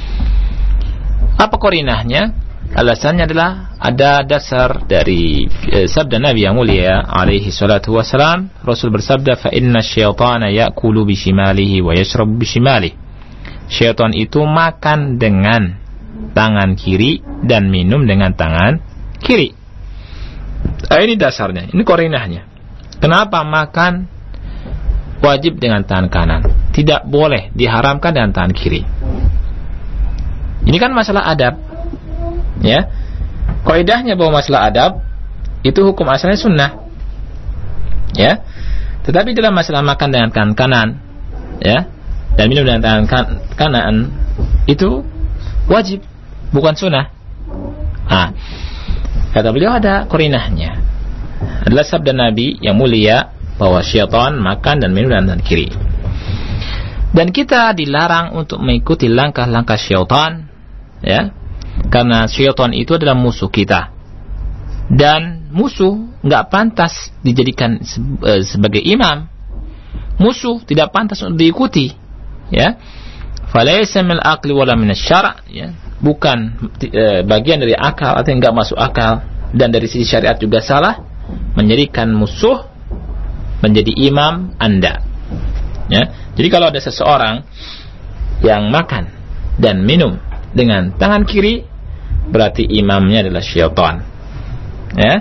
Apa qarinahnya? Alasannya adalah ada dasar dari sabda Nabi yang mulia alaihi salatu wassalam. Rasul bersabda, fa inna syaitana ya'kulu bishimalihi wa yashrabu bishimalihi. Syaitan itu makan dengan tangan kiri dan minum dengan tangan kiri. Ini dasarnya, ini qarinahnya. Kenapa makan wajib dengan tangan kanan, tidak boleh, diharamkan dengan tangan kiri? Ini kan masalah adab, ya. Kaidahnya bahwa masalah adab itu hukum asalnya sunnah, ya. Tetapi dalam masalah makan dengan tangan kanan, ya, dan minum dengan tangan kanan itu wajib, bukan sunnah. Nah, kata beliau ada qarinahnya, adalah sabda Nabi yang mulia bahwa syaitan makan dan minum dengan tangan kiri. Dan kita dilarang untuk mengikuti langkah-langkah syaitan, ya, karena syaitan itu adalah musuh kita, dan musuh nggak pantas dijadikan sebagai imam. Musuh tidak pantas untuk diikuti, ya. falaysa min al-aqli wala min asy-syara', ya, bukan bagian dari akal atau enggak masuk akal, dan dari sisi syariat juga salah menjadikan musuh menjadi imam Anda. Ya. Jadi kalau ada seseorang yang makan dan minum dengan tangan kiri, berarti imamnya adalah syaitan. Ya.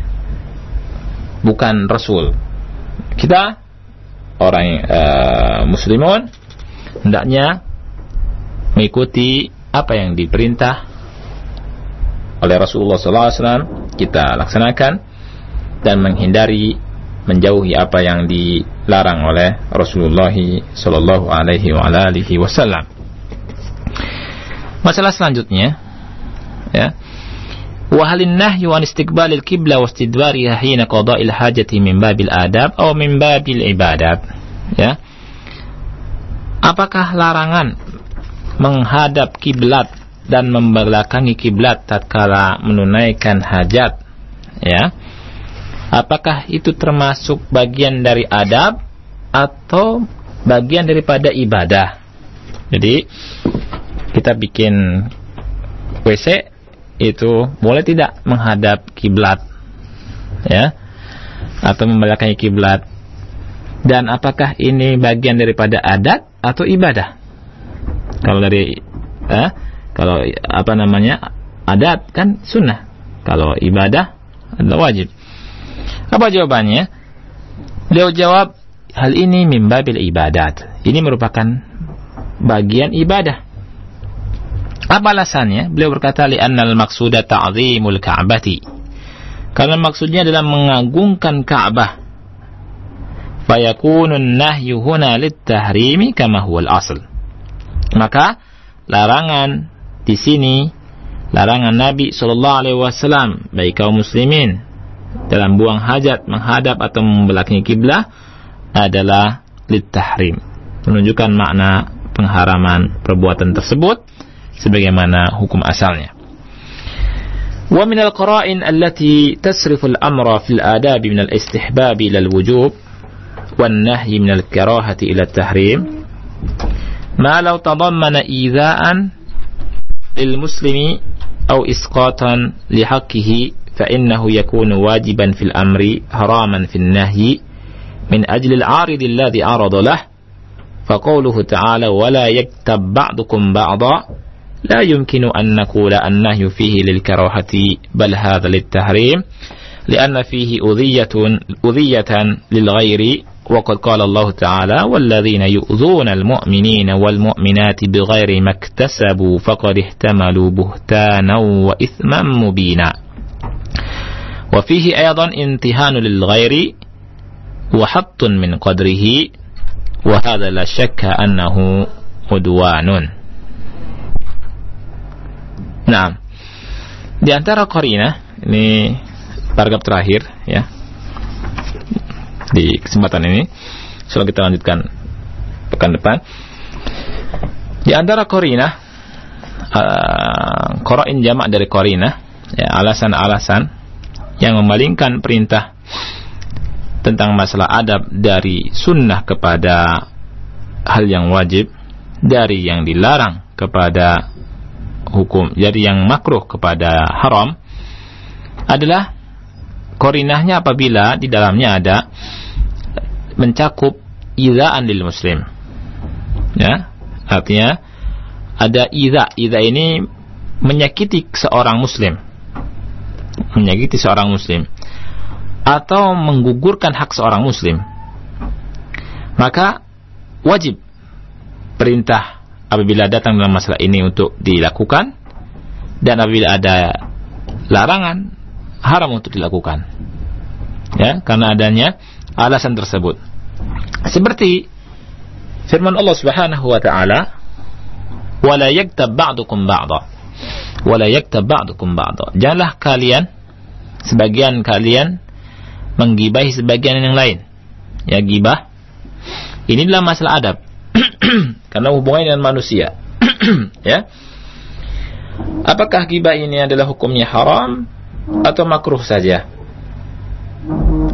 Bukan Rasul. Kita orang muslimun hendaknya mengikuti apa yang diperintah oleh Rasulullah SAW, kita laksanakan, dan menjauhi apa yang dilarang oleh Rasulullah sallallahu alaihi wasallam. Masalah selanjutnya, ya, wa halin nahyu an istiqbalil qibla wa istidbariha hina qada'il hajati min babil adab atau min babil ibadat, ya. Apakah larangan menghadap kiblat dan membelakangi kiblat tatkala menunaikan hajat, ya? Apakah itu termasuk bagian dari adab atau bagian daripada ibadah? Jadi kita bikin WC itu boleh tidak menghadap kiblat, ya, atau membelakangi kiblat? Dan apakah ini bagian daripada adat atau ibadah? Kalau dari adat kan sunnah, kalau ibadah adalah wajib. Apa jawabannya? Beliau jawab, hal ini min babil ibadat. Ini merupakan bagian ibadah. Apa alasannya? Beliau berkata, li'annal maqsuda ta'zimul ka'bati. Karena maksudnya adalah mengagungkan Ka'bah. Fayakunun nahyu huna lit-tahrimi kama huwal asl. Maka larangan di sini, larangan Nabi SAW bagi kaum muslimin dalam buang hajat, menghadap atau membelakangi kiblah adalah lit-tahrim, menunjukkan makna pengharaman perbuatan tersebut sebagaimana hukum asalnya. Wa min al-qara'in allati tasrifu al-amra fil adab min al-istihbab ila al-wujub wan nahyi min al-karahati ila at-tahrim ma law tadammana idha'an lil muslimi aw isqatan li haqqihi فإنه يكون واجبا في الأمر حراما في النهي من أجل العارض الذي عرض له فقوله تعالى ولا يكتب بعضكم بعضا لا يمكن أن نقول النهي فيه للكراهة بل هذا للتحريم لأن فيه أذية للغير وقد قال الله تعالى والذين يؤذون المؤمنين والمؤمنات بغير ما اكتسبوا فقد احتملوا بهتانا وإثما مبينا وفيه أيضا امتحان للغير وحط من قدره وهذا لا شك أنه عدوان. Nah, di antara qarinah, ini paragraf terakhir, ya, di kesempatan ini, setelah kita lanjutkan pekan depan. Di antara qarinah, qara'in jamak dari qarinah, ya, alasan-alasan yang memalingkan perintah tentang masalah adab dari sunnah kepada hal yang wajib, dari yang dilarang kepada hukum, jadi yang makruh kepada haram, adalah qarinahnya apabila di dalamnya ada mencakup idza'an lil muslim, ya, artinya ada idza ini menyakiti seorang muslim, atau menggugurkan hak seorang muslim, maka wajib perintah apabila datang dalam masalah ini untuk dilakukan, dan apabila ada larangan haram untuk dilakukan, ya, karena adanya alasan tersebut. Seperti firman Allah Subhanahu wa taala, wala yaktab ba'dukum ba'dha, wala yaktab ba'dukum ba'dha, janganlah kalian, sebagian kalian menggibahi sebagian yang lain. Ya, gibah ini adalah masalah adab karena hubungannya dengan manusia. Ya, apakah gibah ini adalah hukumnya haram atau makruh saja?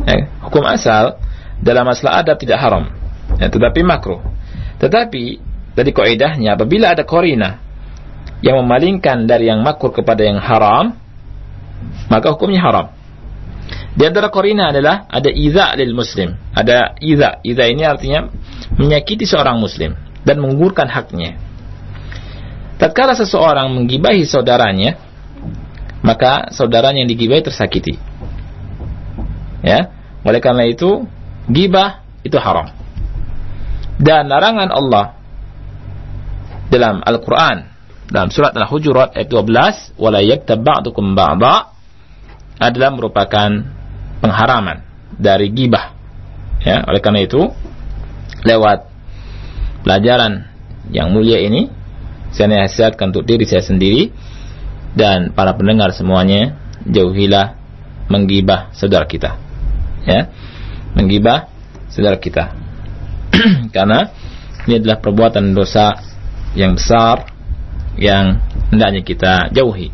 Hukum asal dalam masalah adab tidak haram, ya, tetapi makruh. Tetapi Jadi kaidahnya apabila ada qarina yang memalingkan dari yang makruh kepada yang haram, maka hukumnya haram. Di antara qarina adalah ada iza lil muslim. Ada iza. Iza ini artinya menyakiti seorang muslim dan menggugurkan haknya. Tatkala seseorang menggibahi saudaranya, maka saudaranya yang digibahi tersakiti. Ya, oleh karena itu gibah itu haram. Dan larangan Allah dalam Al-Quran, dalam surat Al-Hujurat ayat 12, wala yaktab ba'dukum ba'da, adalah merupakan pengharaman dari gibah. Ya, oleh karena itu lewat pelajaran yang mulia ini saya nasihatkan untuk diri saya sendiri dan para pendengar semuanya, jauhilah menggibah saudara kita. Ya, menggibah saudara kita. Karena ini adalah perbuatan dosa yang besar yang hendaknya kita jauhi.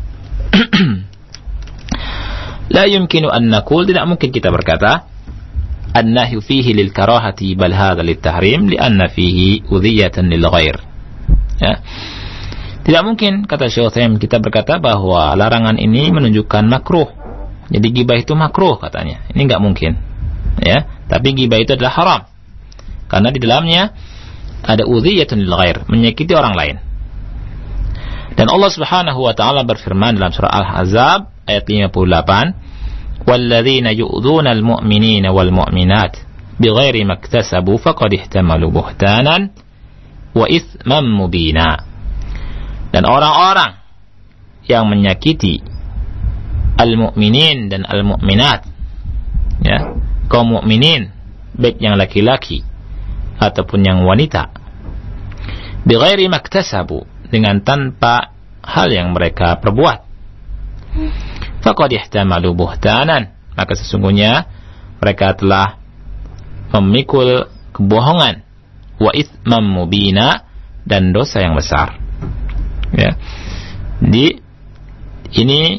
La yumkinu an naqul, tidak mungkin kita berkata an-nahyu fihi lil karahati bal hadha lit tahrim li'anna fihi udhiyatan lil ghair. Ya. Tidak mungkin, kata Syekh Utsaimin, kita berkata bahwa larangan ini menunjukkan makruh. Jadi gibah itu makruh katanya. Ini enggak mungkin. Ya, tapi gibah itu adalah haram. Karena di dalamnya ada udhiyatun lil ghair, menyakiti orang lain. Dan Allah Subhanahu wa taala berfirman dalam surah Al-Ahzab ayat 58, "Walladzina yu'dzuna al-mu'minina wal mu'minat bighairi maktasabu faqad ihtamalu buhtanan wa itsman mubina." Dan orang-orang yang menyakiti al-mu'minin dan al-mu'minat, ya, kaum mukminin baik yang laki-laki ataupun yang wanita, bighairi maktasabu, dengan tanpa hal yang mereka perbuat, faqad ihtamalu buhtanan, maka sesungguhnya mereka telah memikul kebohongan, wa itsman mubina, dan dosa yang besar. Ya. Jadi ini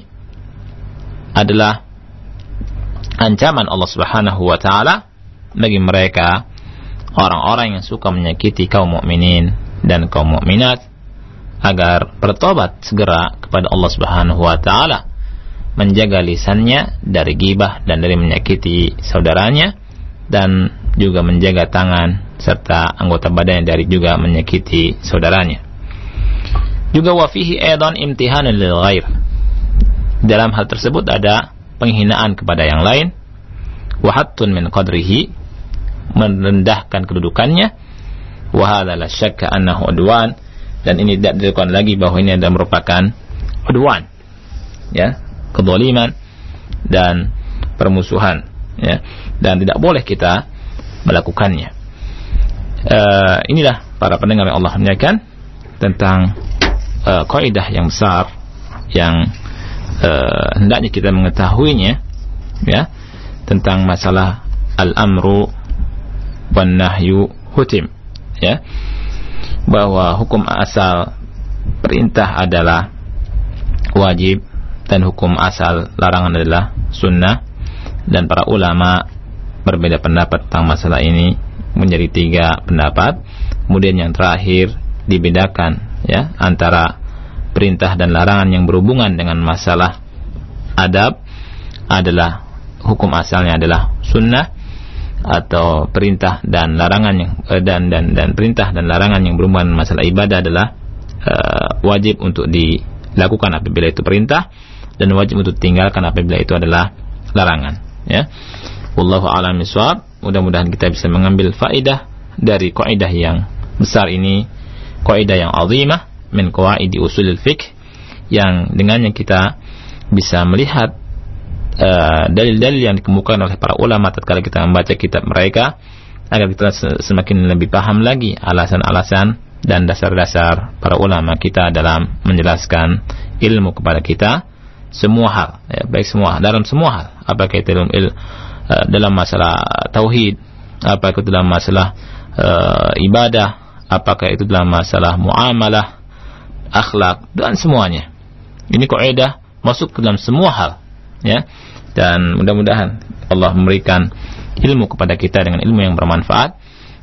adalah ancaman Allah Subhanahu wa taala bagi mereka orang-orang yang suka menyakiti kaum mukminin dan kaum mukminat agar bertobat segera kepada Allah Subhanahu wa taala, menjaga lisannya dari ghibah dan dari menyakiti saudaranya, dan juga menjaga tangan serta anggota badannya dari juga menyakiti saudaranya. Juga wa fihi aidan imtihanan lil ghair. Dalam hal tersebut ada penghinaan kepada yang lain, wa hattun min qadrihi, merendahkan kedudukannya, wa hadza la syakka annahu udwan, dan ini tidak diragukan lagi bahwa ini adalah merupakan udwan, ya, kezaliman dan permusuhan, ya, dan tidak boleh kita melakukannya. Inilah para pendengar yang Allah muliakan tentang kaidah yang besar yang hendaknya kita mengetahuinya, ya, tentang masalah al-amru wan nahyu hutim, ya, bahwa hukum asal perintah adalah wajib dan hukum asal larangan adalah sunnah, dan para ulama berbeda pendapat tentang masalah ini menjadi 3 pendapat. Kemudian yang terakhir dibedakan, ya, antara perintah dan larangan yang berhubungan dengan masalah adab adalah hukum asalnya adalah sunnah, atau perintah dan larangan yang dan perintah dan larangan yang berhubungan dengan masalah ibadah adalah wajib untuk dilakukan apabila itu perintah, dan wajib untuk ditinggalkan apabila itu adalah larangan, ya. Wallahu a'lam bishawab. Mudah-mudahan kita bisa mengambil faedah dari kaidah yang besar ini, kaidah yang azimah min qawaidi usulil fiqh, yang dengannya kita bisa melihat dalil-dalil yang dikemukakan oleh para ulama tatkala kita membaca kitab mereka, agar kita semakin lebih paham lagi alasan-alasan dan dasar-dasar para ulama kita dalam menjelaskan ilmu kepada kita semua hal, ya, baik semua dalam semua hal, apakah itu dalam masalah tauhid, apakah itu dalam masalah ibadah, apakah itu dalam masalah muamalah, akhlak, dan semuanya. Ini kaidah masuk ke dalam semua hal, ya. Dan mudah-mudahan Allah memberikan ilmu kepada kita dengan ilmu yang bermanfaat,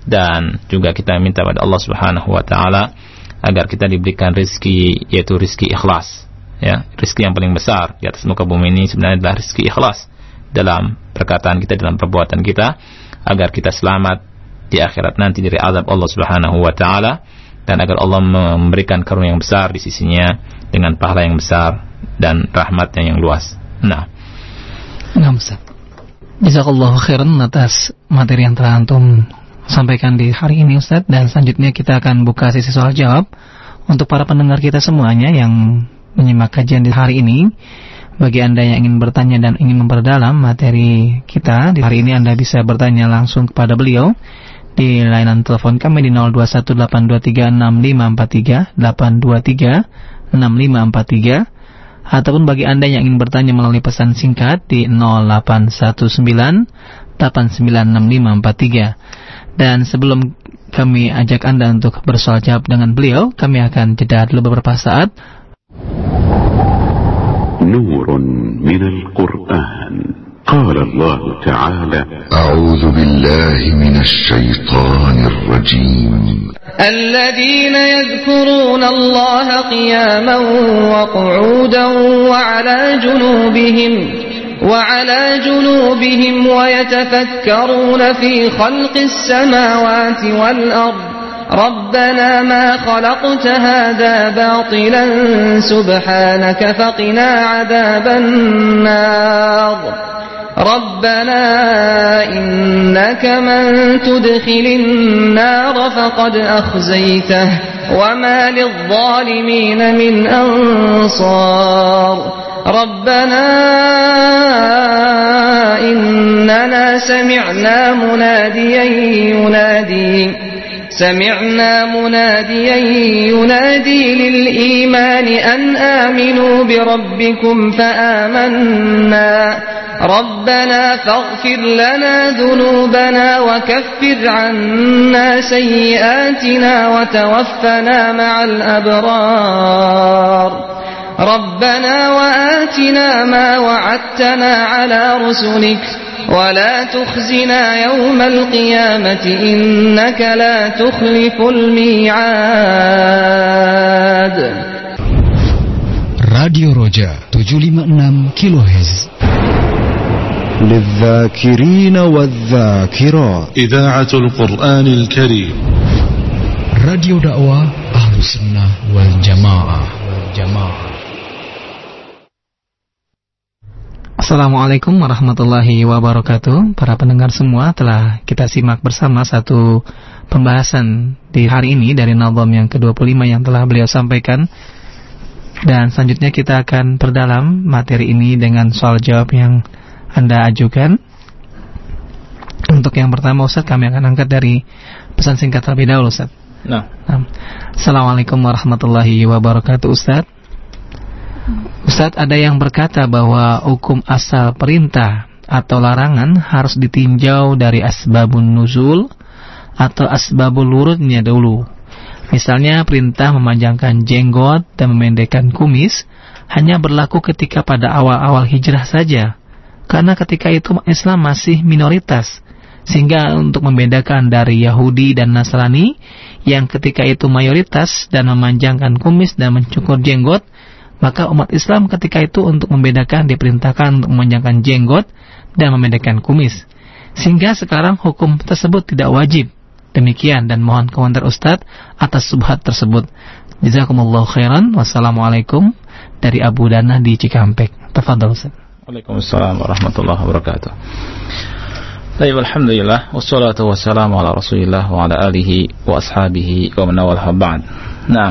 dan juga kita minta pada Allah Subhanahu wa taala agar kita diberikan rezeki, yaitu rezeki ikhlas. Ya, rezeki yang paling besar di atas muka bumi ini sebenarnya adalah rezeki ikhlas dalam perkataan kita, dalam perbuatan kita, agar kita selamat di akhirat nanti dari azab Allah Subhanahu wa taala, dan agar Allah memberikan karunia yang besar di sisinya dengan pahala yang besar dan rahmatnya yang luas. Nah, Ustaz. Jazakallahu khairan atas materi yang telah antum sampaikan di hari ini, Ustaz. Dan selanjutnya kita akan buka sesi soal jawab untuk para pendengar kita semuanya yang menyimak kajian di hari ini. Bagi Anda yang ingin bertanya dan ingin memperdalam materi kita di hari ini, Anda bisa bertanya langsung kepada beliau di layanan telepon kami di 0218236543 8236543, ataupun bagi Anda yang ingin bertanya melalui pesan singkat di 0819896543. Dan sebelum kami ajak Anda untuk bersoal jawab dengan beliau, kami akan jeda dulu beberapa saat. Nurun minal Qur'an. قال الله تعالى أعوذ بالله من الشيطان الرجيم الذين يذكرون الله قياما وقعودا وعلى جنوبهم ويتفكرون في خلق السماوات والأرض ربنا ما خلقت هذا باطلا سبحانك فقنا عذاب النار ربنا إنك من تدخل النار فقد أخزيته وما للظالمين من أنصار ربنا إننا سمعنا مناديا ينادي للإيمان أن آمنوا بربكم فآمنا ربنا فاغفر لنا ذنوبنا وكفر عنا سيئاتنا وتوفنا مع الأبرار ربنا وآتنا ما وعدتنا على رسلك ولا تخزنا يوم القيامة إنك لا تخلف الميعاد. Radio Roja 756 kHz للذاكرين والذاكرات إذاعة القرآن الكريم Radio dakwah Ahlus Sunnah wal Jamaah. Assalamualaikum warahmatullahi wabarakatuh. Para pendengar semua, telah kita simak bersama satu pembahasan di hari ini dari nazam yang ke-25 yang telah beliau sampaikan. Dan selanjutnya kita akan perdalam materi ini dengan soal jawab yang Anda ajukan. Untuk yang pertama, Ustaz, kami akan angkat dari pesan singkat terlebih dahulu, Ustaz. Nah. Assalamualaikum warahmatullahi wabarakatuh, Ustaz. Ustaz, ada yang berkata bahwa hukum asal perintah atau larangan harus ditinjau dari asbabun nuzul atau asbabul wurudnya dulu. Misalnya perintah memanjangkan jenggot dan memendekkan kumis hanya berlaku ketika pada awal-awal hijrah saja, karena ketika itu Islam masih minoritas, sehingga untuk membedakan dari Yahudi dan Nasrani yang ketika itu mayoritas dan memanjangkan kumis dan mencukur jenggot, maka umat Islam ketika itu untuk membedakan diperintahkan untuk memanjangkan jenggot dan memendekkan kumis. Sehingga sekarang hukum tersebut tidak wajib. Demikian, dan mohon komentar Ustadz atas subhat tersebut. Jazakumullahu khairan. Wassalamualaikum, dari Abu Dana di Cikampek. Tafadhol Ustaz. Waalaikumsalam warahmatullahi wabarakatuh. Baik, alhamdulillah wassalatu wassalamu ala Rasulillah wa ala alihi wa ashabihi wa man wala ba'd. Nah,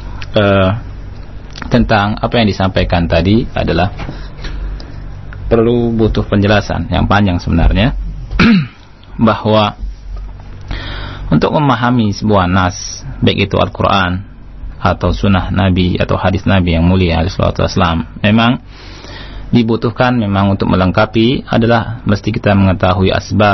tentang apa yang disampaikan tadi adalah perlu butuh penjelasan yang panjang sebenarnya bahwa untuk memahami sebuah nas, baik itu Al-Quran atau sunnah Nabi atau hadis Nabi yang mulia alaihi salatu wassalam, memang dibutuhkan memang untuk melengkapi adalah mesti kita mengetahui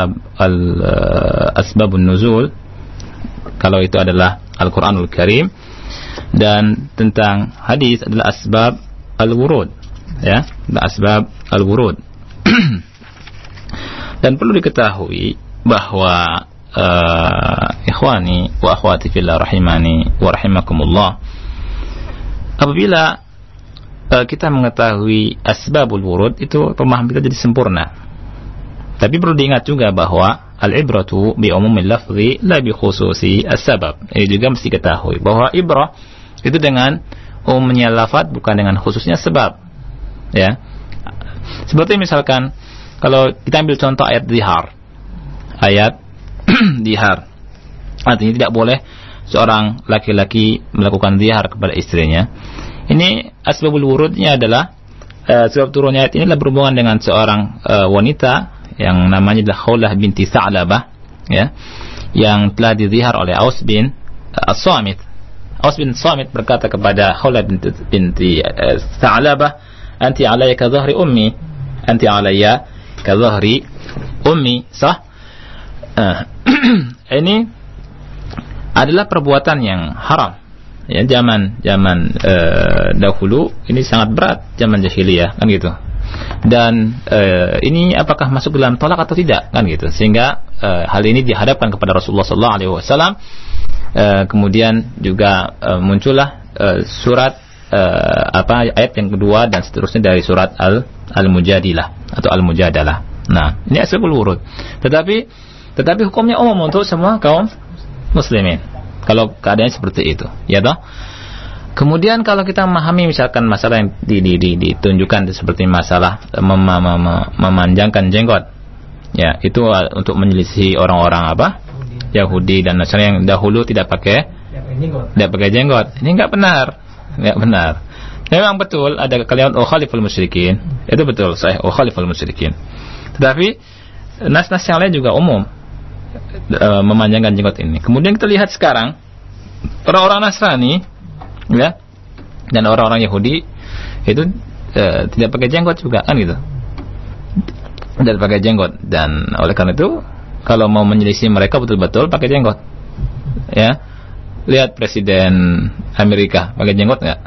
asbabun nuzul, kalau itu adalah Al-Quranul Karim, dan tentang hadis adalah asbab al-wurud, ya, asbab al-wurud. Dan perlu diketahui bahwa ikhwani wa akhwati fillah rahimani wa rahimakumullah, apabila kita mengetahui asbabul wurud, itu pemahaman kita jadi sempurna. Tapi perlu diingat juga bahwa al-ibratu bi umumil lafzi la bi khususi as-sabab. Ini juga mesti ketahui bahwa ibrah itu dengan umumnya lafaz, bukan dengan khususnya sebab. Ya. Seperti misalkan kalau kita ambil contoh ayat zihar. Ayat zihar. Artinya tidak boleh seorang laki-laki melakukan zihar kepada istrinya. Ini asbabul wurudnya adalah sebab turunnya ayat ini adalah berhubungan dengan seorang wanita yang namanya adalah Khawlah binti Sa'labah, ya, yang telah dizihar oleh Aus bin As-Samit. Aus bin Samit berkata kepada Khawlah binti Sa'labah, "Anti alayya ka dhahri ummi, anti alayya ka dhahri ummi." Sah? Ini adalah perbuatan yang haram. Ya, zaman dahulu ini sangat berat, zaman jahiliyah, kan gitu. Dan ini apakah masuk dalam tolak atau tidak, kan gitu. Sehingga hal ini dihadapkan kepada Rasulullah SAW. Kemudian juga muncullah surat ayat yang kedua dan seterusnya dari surat Al-Mujadilah atau Al-Mujadalah. Nah, ini asbabul wurud. Tetapi hukumnya umum untuk semua kaum muslimin kalau keadaannya seperti itu, ya toh. Kemudian kalau kita memahami misalkan masalah yang ditunjukkan seperti masalah memanjangkan jenggot, ya, itu untuk menyelisih orang-orang Yahudi dan Nasrani yang dahulu tidak pakai jenggot. Ini enggak benar. Memang betul ada kalimat ukhaliful musyrikin, itu betul, sahih, ukhaliful musyrikin. Tetapi nas-nas yang lain juga umum memanjangkan jenggot ini. Kemudian kita lihat sekarang orang-orang Nasrani, ya, dan orang-orang Yahudi itu tidak pakai jenggot juga, kan gitu. Tidak pakai jenggot, dan oleh karena itu kalau mau menyelisih mereka betul-betul pakai jenggot. Ya, lihat Presiden Amerika pakai jenggot nggak?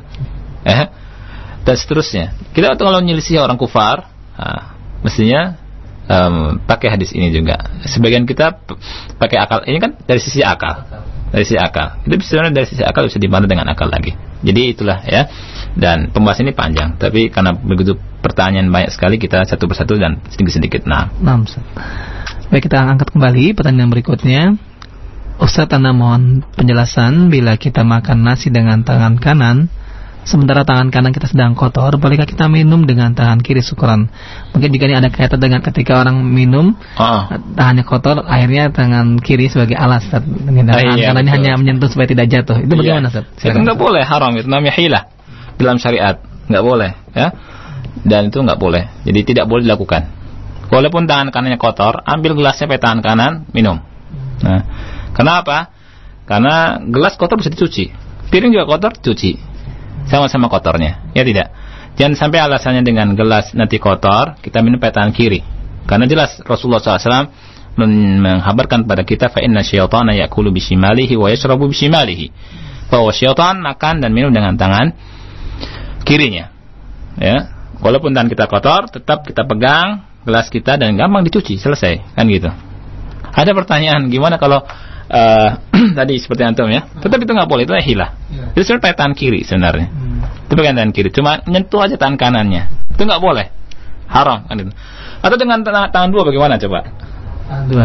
Dan seterusnya. Kita kalau menyelisih orang kufar, mestinya pakai hadis ini juga. Sebagian kita pakai akal. Ini kan dari sisi akal. Itu sebenarnya dari sisi akal bisa dibantah dengan akal lagi. Jadi itulah, ya. Dan pembahasan ini panjang, tapi karena begitu pertanyaan banyak sekali, kita satu persatu dan sedikit-sedikit. Nah, baik, kita angkat kembali pertanyaan berikutnya. Ustaz, Anda mohon penjelasan, bila kita makan nasi dengan tangan kanan sementara tangan kanan kita sedang kotor, bolehkah kita minum dengan tangan kiri? Syukran. Mungkin jika ini ada kaitan dengan ketika orang minum tangannya kotor, akhirnya tangan kiri sebagai alas, dengan tangan kanannya hanya menyentuh supaya tidak jatuh. Itu bagaimana, Ustaz? Itu enggak boleh, haram, itu namanya hilah dalam syariat, enggak boleh, ya. Dan itu enggak boleh. Jadi tidak boleh dilakukan. Walaupun tangan kanannya kotor, ambil gelasnya pakai tangan kanan, minum. Nah, kenapa? Karena gelas kotor bisa dicuci, piring juga kotor, cuci. Sama-sama kotornya, ya tidak. Jangan sampai alasannya dengan gelas nanti kotor, kita minum pakai tangan kiri. Karena jelas Rasulullah SAW menghabarkan pada kita, fa inna syaitana ya'kulu bishimalihi wa yashrabu bishimalihi, bahwa syaitan makan dan minum dengan tangan kirinya. Ya, walaupun tangan kita kotor, tetap kita pegang gelas kita dan gampang dicuci, selesai, kan gitu. Ada pertanyaan, gimana kalau tadi seperti antum, ya, tetap itu nggak boleh, itu hilah. Itu sebenarnya pakai tangan kiri sebenarnya. Itu pakai tangan kiri, cuma nyentuh aja tangan kanannya, itu nggak boleh, haram, kan itu. Atau dengan tangan dua bagaimana coba? Dua.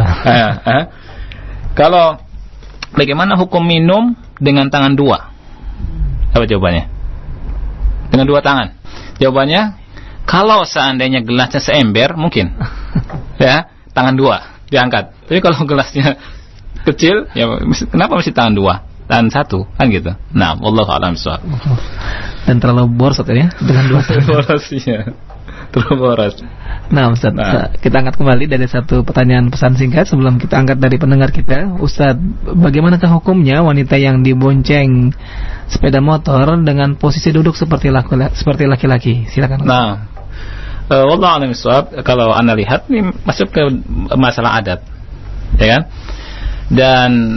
Kalau bagaimana hukum minum dengan tangan dua? Apa jawabannya? Dengan dua tangan. Jawabannya, kalau seandainya gelasnya seember mungkin, ya, tangan dua diangkat. Tapi kalau gelasnya kecil, ya kenapa mesti tangan dua, tangan satu, kan gitu. Nah, wallahu a'lam bishawab. Dan terlalu boros, ya, dengan dua tangan. Boros, ya. Terlalu boros. Nah, Ustaz, kita angkat kembali dari satu pertanyaan pesan singkat sebelum kita angkat dari pendengar kita. Ustaz, bagaimanakah hukumnya wanita yang dibonceng sepeda motor dengan posisi duduk seperti laki-laki? Silakan. Nah, wallahu a'lam bishawab. Kalau Anda lihat ini masuk ke masalah adat, ya kan? Dan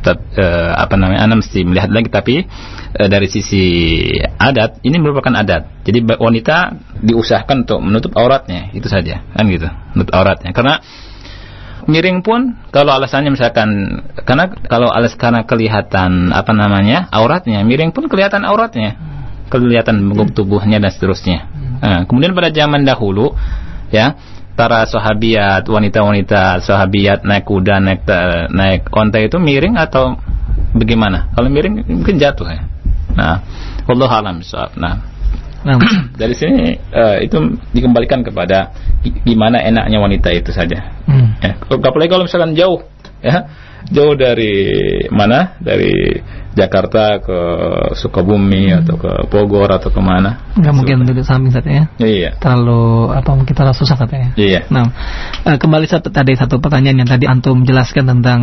Anda mesti melihat lagi, tapi dari sisi adat ini merupakan adat. Jadi wanita diusahakan untuk menutup auratnya, itu saja, kan gitu, menutup auratnya. Karena miring pun kalau alasannya misalkan karena kelihatan auratnya, miring pun kelihatan auratnya, kelihatan tubuhnya dan seterusnya. Kemudian pada zaman dahulu, ya, para sahabiyat, wanita-wanita sahabiyat naik kuda, naik onta itu miring atau bagaimana? Kalau miring mungkin jatuh ya. Nah, wallahu a'lam bishawab. Dari sini itu dikembalikan kepada gimana enaknya wanita itu saja. Ya, apalagi kalau misalkan jauh, ya, jauh dari mana? Dari Jakarta ke Sukabumi atau ke Bogor atau kemana? Nggak mungkin duduk samping saja, ya? Iya. Terlalu kita susah katanya. Iya. Nah, kembali tadi satu pertanyaan yang tadi antum jelaskan tentang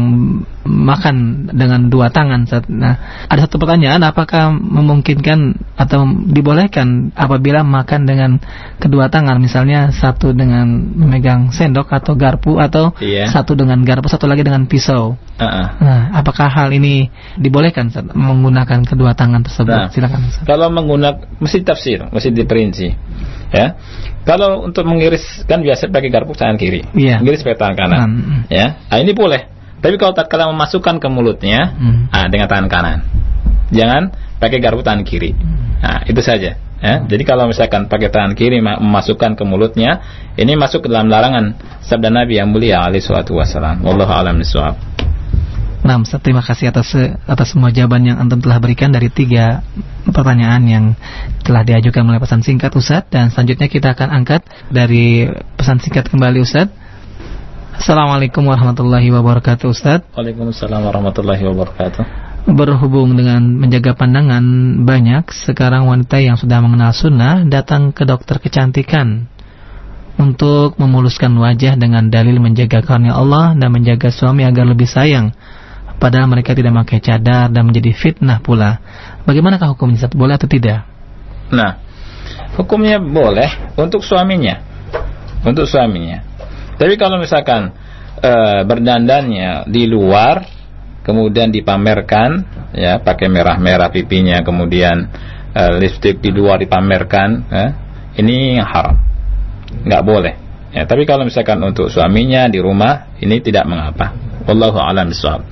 makan dengan dua tangan. Nah, ada satu pertanyaan, apakah memungkinkan atau dibolehkan apabila makan dengan kedua tangan, misalnya satu dengan memegang sendok atau garpu, atau satu dengan garpu, satu lagi dengan pisau. Nah, apakah hal ini dibolehkan menggunakan kedua tangan tersebut? Nah, silakan. Kalau menggunakan, mesti tafsir, mesti diperinci, ya. Kalau untuk mengiris kan biasa pakai garpu tangan kiri, mengiris pakai tangan kanan, ya. Nah, ini boleh. Tapi kalau tatkala memasukkan ke mulutnya, dengan tangan kanan, jangan pakai garpu tangan kiri. Nah, itu saja. Ya. Jadi kalau misalkan pakai tangan kiri memasukkan ke mulutnya, ini masuk ke dalam larangan sabda Nabi yang mulia alaihi salatu wasallam. Wallahu a'lam bishawab. Nah, Ustaz, terima kasih atas semua jawaban yang antum telah berikan dari 3 pertanyaan yang telah diajukan melalui pesan singkat, Ustaz. Dan selanjutnya kita akan angkat dari pesan singkat kembali, Ustaz. Assalamualaikum warahmatullahi wabarakatuh, Ustaz. Waalaikumsalam warahmatullahi wabarakatuh. Berhubung dengan menjaga pandangan, banyak sekarang wanita yang sudah mengenal sunnah datang ke dokter kecantikan untuk memuluskan wajah dengan dalil menjaga karunia Allah dan menjaga suami agar lebih sayang. Padahal mereka tidak memakai cadar dan menjadi fitnah pula. Bagaimanakah hukumnya, Ustaz? Boleh atau tidak? Nah, hukumnya boleh untuk suaminya. Untuk suaminya. Tapi kalau misalkan berdandannya di luar, kemudian dipamerkan, ya, pakai merah-merah pipinya, kemudian lipstik di luar dipamerkan, ini haram. Nggak boleh. Ya, tapi kalau misalkan untuk suaminya di rumah, ini tidak mengapa. Wallahu a'lam bishawab.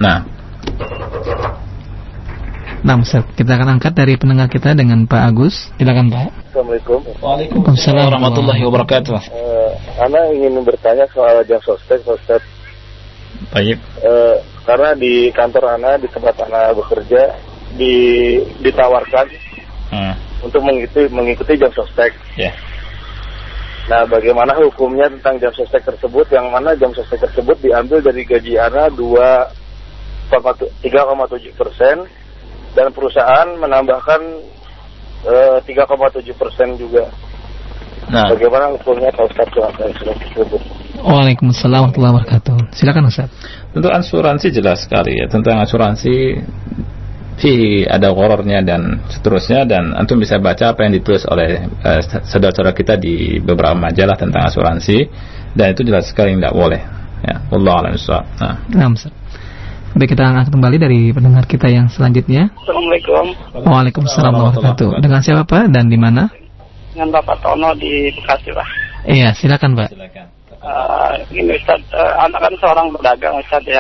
Nah, Ustaz, kita akan angkat dari pendengar kita dengan Pak Agus. Silakan, Pak. Assalamualaikum. Waalaikumsalam warahmatullahi wabarakatuh. Ana ingin bertanya soal jam sostek, Ustaz. Baik. Karena di kantor Ana, di tempat Ana bekerja, ditawarkan untuk mengikuti jam sostek. Yeah. Nah, bagaimana hukumnya tentang jam sostek tersebut, yang mana jam sostek tersebut diambil dari gaji Ana 3,7% dan perusahaan menambahkan 3,7% juga. Nah, bagaimana hukumnya Pak Ustaz tersebut? Waalaikumsalam warahmatullahi wabarakatuh. Silakan, Ustaz. Untuk asuransi jelas sekali, ya. Tentang asuransi ada horornya dan seterusnya, dan antum bisa baca apa yang ditulis oleh saudara-saudara kita di beberapa majalah tentang asuransi, dan itu jelas sekali tidak boleh. Ya, wallahu a'lam bishawab. Nah, Ustaz. Baik, kita angkat kembali dari pendengar kita yang selanjutnya. Assalamualaikum. Waalaikumsalam warahmatullahi wabarakatuh. Dengan siapa, Pak, dan di mana? Dengan Bapak Tono di Bekasi, Pak. Iya, silakan, Pak. Ini Ustaz, anak kan seorang pedagang, Ustaz, ya.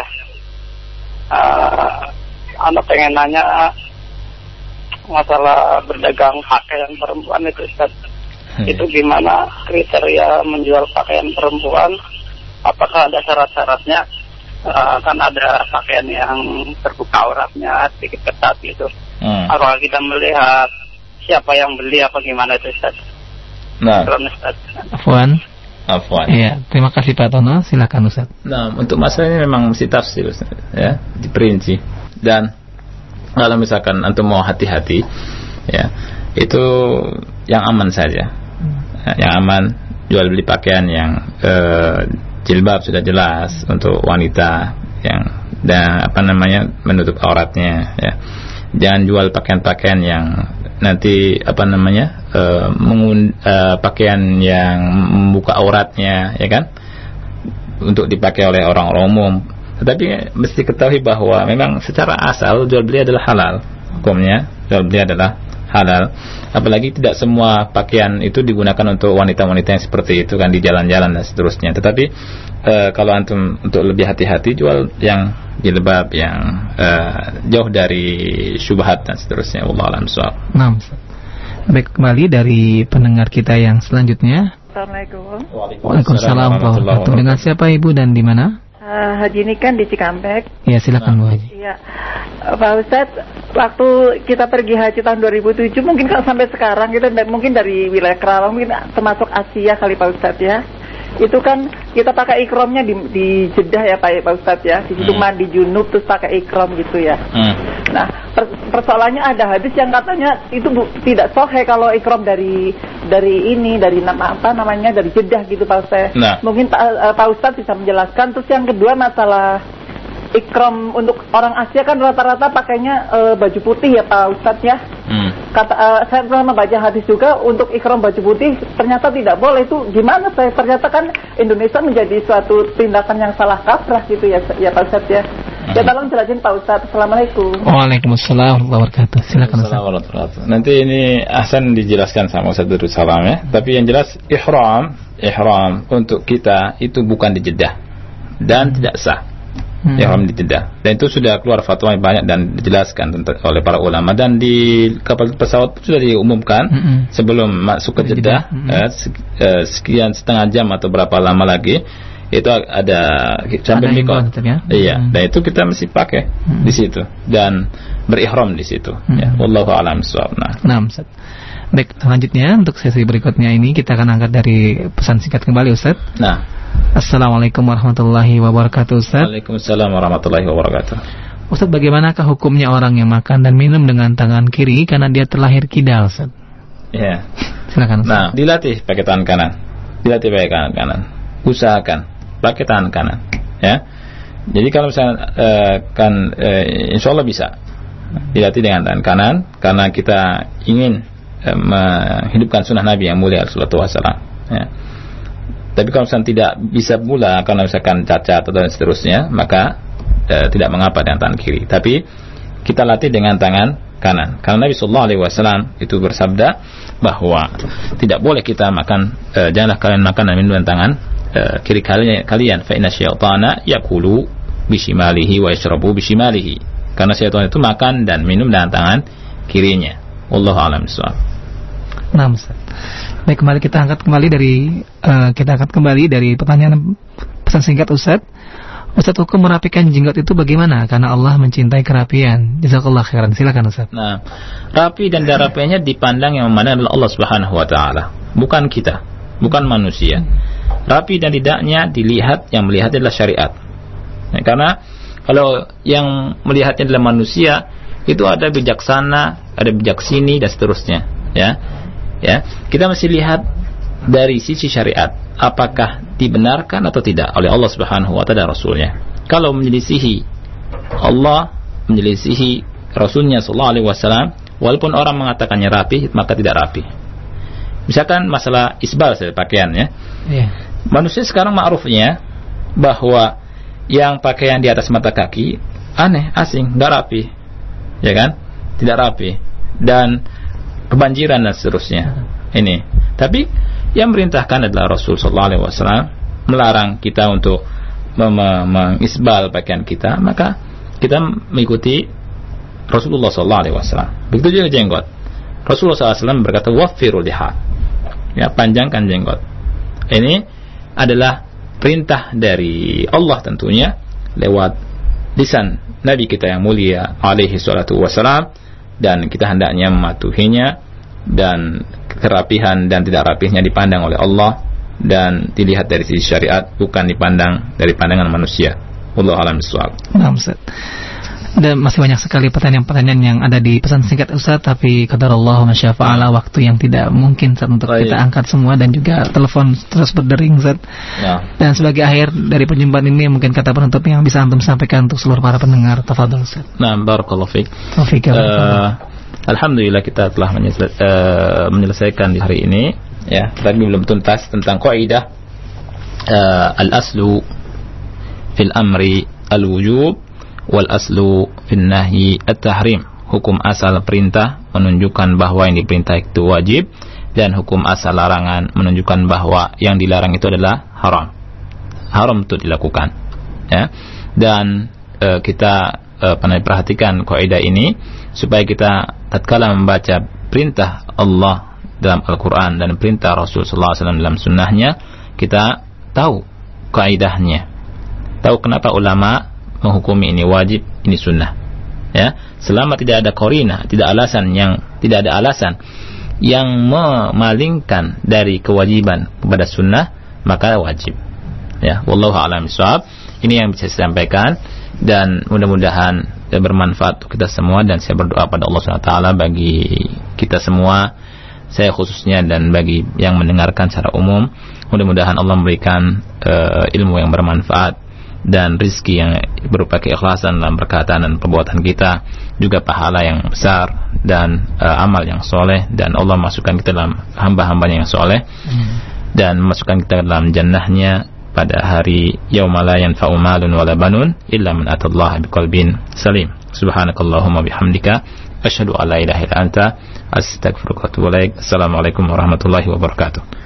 Anak pengen nanya masalah berdagang pakaian perempuan itu, Ustaz. Itu gimana kriteria menjual pakaian perempuan? Apakah ada syarat-syaratnya? Kan ada pakaian yang terbuka auratnya, sedikit ketat gitu. Apakah kita melihat siapa yang beli apa gimana itu, Ustaz? Nah, Afwan. Iya, terima kasih Pak Tono. Silakan, Ustaz. Nah, untuk masalah ini memang mesti tafsir, Ustaz, ya, diperinci. Dan kalau misalkan antum mau hati-hati, ya, itu yang aman saja. Yang aman, jual beli pakaian yang jilbab sudah jelas untuk wanita yang menutup auratnya, ya. Jangan jual pakaian-pakaian yang nanti pakaian yang membuka auratnya, ya kan, untuk dipakai oleh orang umum. Tetapi mesti ketahui bahwa memang secara asal jual beli adalah halal. Hukumnya jual beli adalah halal. Apalagi tidak semua pakaian itu digunakan untuk wanita-wanita yang seperti itu kan, di jalan-jalan dan seterusnya. Tetapi kalau antum untuk lebih hati-hati, jual yang jilbab yang jauh dari syubhat dan seterusnya. Wallahu a'lam bishawab. Nah, baik, kembali dari pendengar kita yang selanjutnya. Assalamualaikum. Waalaikumsalam warahmatullahi wabarakatuh. Dengan siapa Ibu dan di mana? Haji ini kan di Cikampek. Ya, silakan Bu Haji. Iya. Pak Ustadz, waktu kita pergi haji tahun 2007, mungkin kalau sampai sekarang kita mungkin dari wilayah Kerawang, mungkin termasuk Asia kali Pak Ustadz ya. Itu kan kita pakai ikromnya di Jeddah ya Pak Ustadz ya. Di situ mandi junub terus pakai ikrom gitu ya. Nah, persoalannya ada hadis yang katanya itu tidak sahih kalau ikrom dari Jeddah gitu Pak Ustadz. Nah. Mungkin Pak Ustadz bisa menjelaskan. Terus yang kedua masalah ikram untuk orang Asia kan rata-rata pakainya baju putih ya Pak Ustadz ya. Saya pernah membaca hadis juga untuk ikram baju putih ternyata tidak boleh. Itu gimana saya? Ternyata kan Indonesia menjadi suatu tindakan yang salah kaprah gitu ya Pak Ustadz ya. Ya tolong jelasin Pak Ustadz. Assalamualaikum. Waalaikumsalam warahmatullahi wabarakatuh. Silakan Ustaz. Nanti ini Ahsan dijelaskan sama Ustaz Darussalam ya. Tapi yang jelas ihram untuk kita itu bukan di Jeddah dan tidak sah. Ihram di Jeddah, dan itu sudah keluar fatwa yang banyak dan dijelaskan oleh para ulama, dan di kapal pesawat sudah diumumkan sebelum masuk ke Jeddah sekian setengah jam atau berapa lama lagi itu ada sampai mikot ya? Iya, dan itu kita mesti pakai di situ dan berihram di situ ya. Wallahu a'lam bishawab. Nah, Ustaz. Baik, selanjutnya untuk sesi berikutnya ini kita akan angkat dari pesan singkat kembali Ustaz. Nah, Assalamualaikum warahmatullahi wabarakatuh Ustaz. Waalaikumsalam warahmatullahi wabarakatuh. Ustaz, bagaimanakah hukumnya orang yang makan dan minum dengan tangan kiri karena dia terlahir kidal Ustaz? Ya. Silakan Ustaz. Nah, dilatih pakai tangan kanan. Dilatih pakai tangan kanan. Usahakan pakai tangan kanan ya. Jadi kalau misalnya insyaallah bisa dilatih dengan tangan kanan karena kita ingin menghidupkan sunnah Nabi yang mulia sallallahu alaihi wasallam ya. Tapi kalau misalnya tidak bisa pula karena misalkan cacat atau dan seterusnya, maka tidak mengapa dengan tangan kiri. Tapi kita latih dengan tangan kanan. Karena Nabi sallallahu alaihi wasallam itu bersabda bahwa tidak boleh kita makan, janganlah kalian makan dan minum dengan tangan kiri kalian. Fa inna syaitana yaqulu bishimalihi wa yashrabu bishimalihi. Karena syaitan itu makan dan minum dengan tangan kirinya. Wallahu a'lam bishawab. Nah, Ustaz. Baik, kita angkat kembali dari pertanyaan pesan singkat Ustaz. Ustaz, hukum merapikan jenggot itu bagaimana? Karena Allah mencintai kerapian. Jazakallah khairan. Silakan Ustaz. Nah, rapi dan tidak rapinya dipandang yang mana adalah Allah Subhanahu wa taala, bukan kita, bukan manusia. Rapi dan tidaknya dilihat, yang melihat adalah syariat. Ya, karena kalau yang melihatnya adalah manusia, itu ada bijaksana, ada bijaksini dan seterusnya, ya. Ya, kita mesti lihat dari sisi syariat, apakah dibenarkan atau tidak oleh Allah Subhanahu wa taala dan Rasulnya. Kalau menyelisihi Allah, menyelisihi Rasulnya sallallahu alaihi wasallam, walaupun orang mengatakannya rapi, maka tidak rapi. Misalkan masalah isbal pakaian ya. Yeah. Manusia sekarang ma'rufnya bahwa yang pakaian di atas mata kaki aneh, asing, tidak rapi. Ya kan? Tidak rapi. Dan kebanjiran dan seterusnya. Ini. Tapi yang merintahkan adalah Rasul sallallahu alaihi wasallam, melarang kita untuk mengisbal pakaian kita, maka kita mengikuti Rasulullah sallallahu alaihi wasallam. Begitu juga jenggot. Rasulullah sallallahu alaihi wasallam berkata waffiru liha. Ya, panjangkan jenggot. Ini adalah perintah dari Allah tentunya lewat lisan Nabi kita yang mulia alaihi salatu wasallam, dan kita hendaknya mematuhinya, dan kerapihan dan tidak rapihnya dipandang oleh Allah dan dilihat dari sisi syariat, bukan dipandang dari pandangan manusia. Wallahu a'lam bishawab. Nah, Ustaz. Dan masih banyak sekali pertanyaan-pertanyaan yang ada di pesan singkat Ustaz, tapi qadarullah ma syaa fa'ala, waktu yang tidak mungkin Ustaz untuk kita angkat semua, dan juga telepon terus berdering Ustaz. Ya. Dan sebagai akhir dari perjumpaan ini, mungkin kata penutup yang bisa antum sampaikan untuk seluruh para pendengar. Tafadhol Ustaz. Nah, barakallahu fiik. Alhamdulillah kita telah menyelesaikan di hari ini ya, tapi belum tuntas tentang kaidah al-aslu fil amri al-wujub wal aslu fin nahyi at-tahrim. Hukum asal perintah menunjukkan bahwa yang diperintah itu wajib, dan hukum asal larangan menunjukkan bahwa yang dilarang itu adalah haram. Haram untuk dilakukan. Ya. Dan kita perhatikan kaidah ini supaya kita tatkala membaca perintah Allah dalam Al-Quran dan perintah Rasul sallallahu alaihi wasallam dalam sunnahnya, kita tahu kaidahnya, tahu kenapa ulama menghukumi ini wajib, ini sunnah. Ya, selama tidak ada qarina, tidak ada alasan yang memalingkan dari kewajiban kepada sunnah, maka wajib. Ya, wallahu a'lam bishawab. Ini yang bisa saya sampaikan, dan mudah-mudahan bermanfaat untuk kita semua, dan saya berdoa pada Allah SWT bagi kita semua, saya khususnya, dan bagi yang mendengarkan secara umum, mudah-mudahan Allah memberikan ilmu yang bermanfaat dan rizki yang berupa keikhlasan dalam perkataan dan perbuatan kita, juga pahala yang besar dan amal yang soleh, dan Allah masukkan kita dalam hamba-hambanya yang soleh, dan masukkan kita dalam jannahnya pada hari yauma la yanfa'u malun wala banun illa man atallaha biqalbin salim. Subhanakallahumma bihamdika asyhadu an la ilaha illa anta astaghfiruka wa atubu ilaik. Assalamualaikum warahmatullahi wabarakatuh.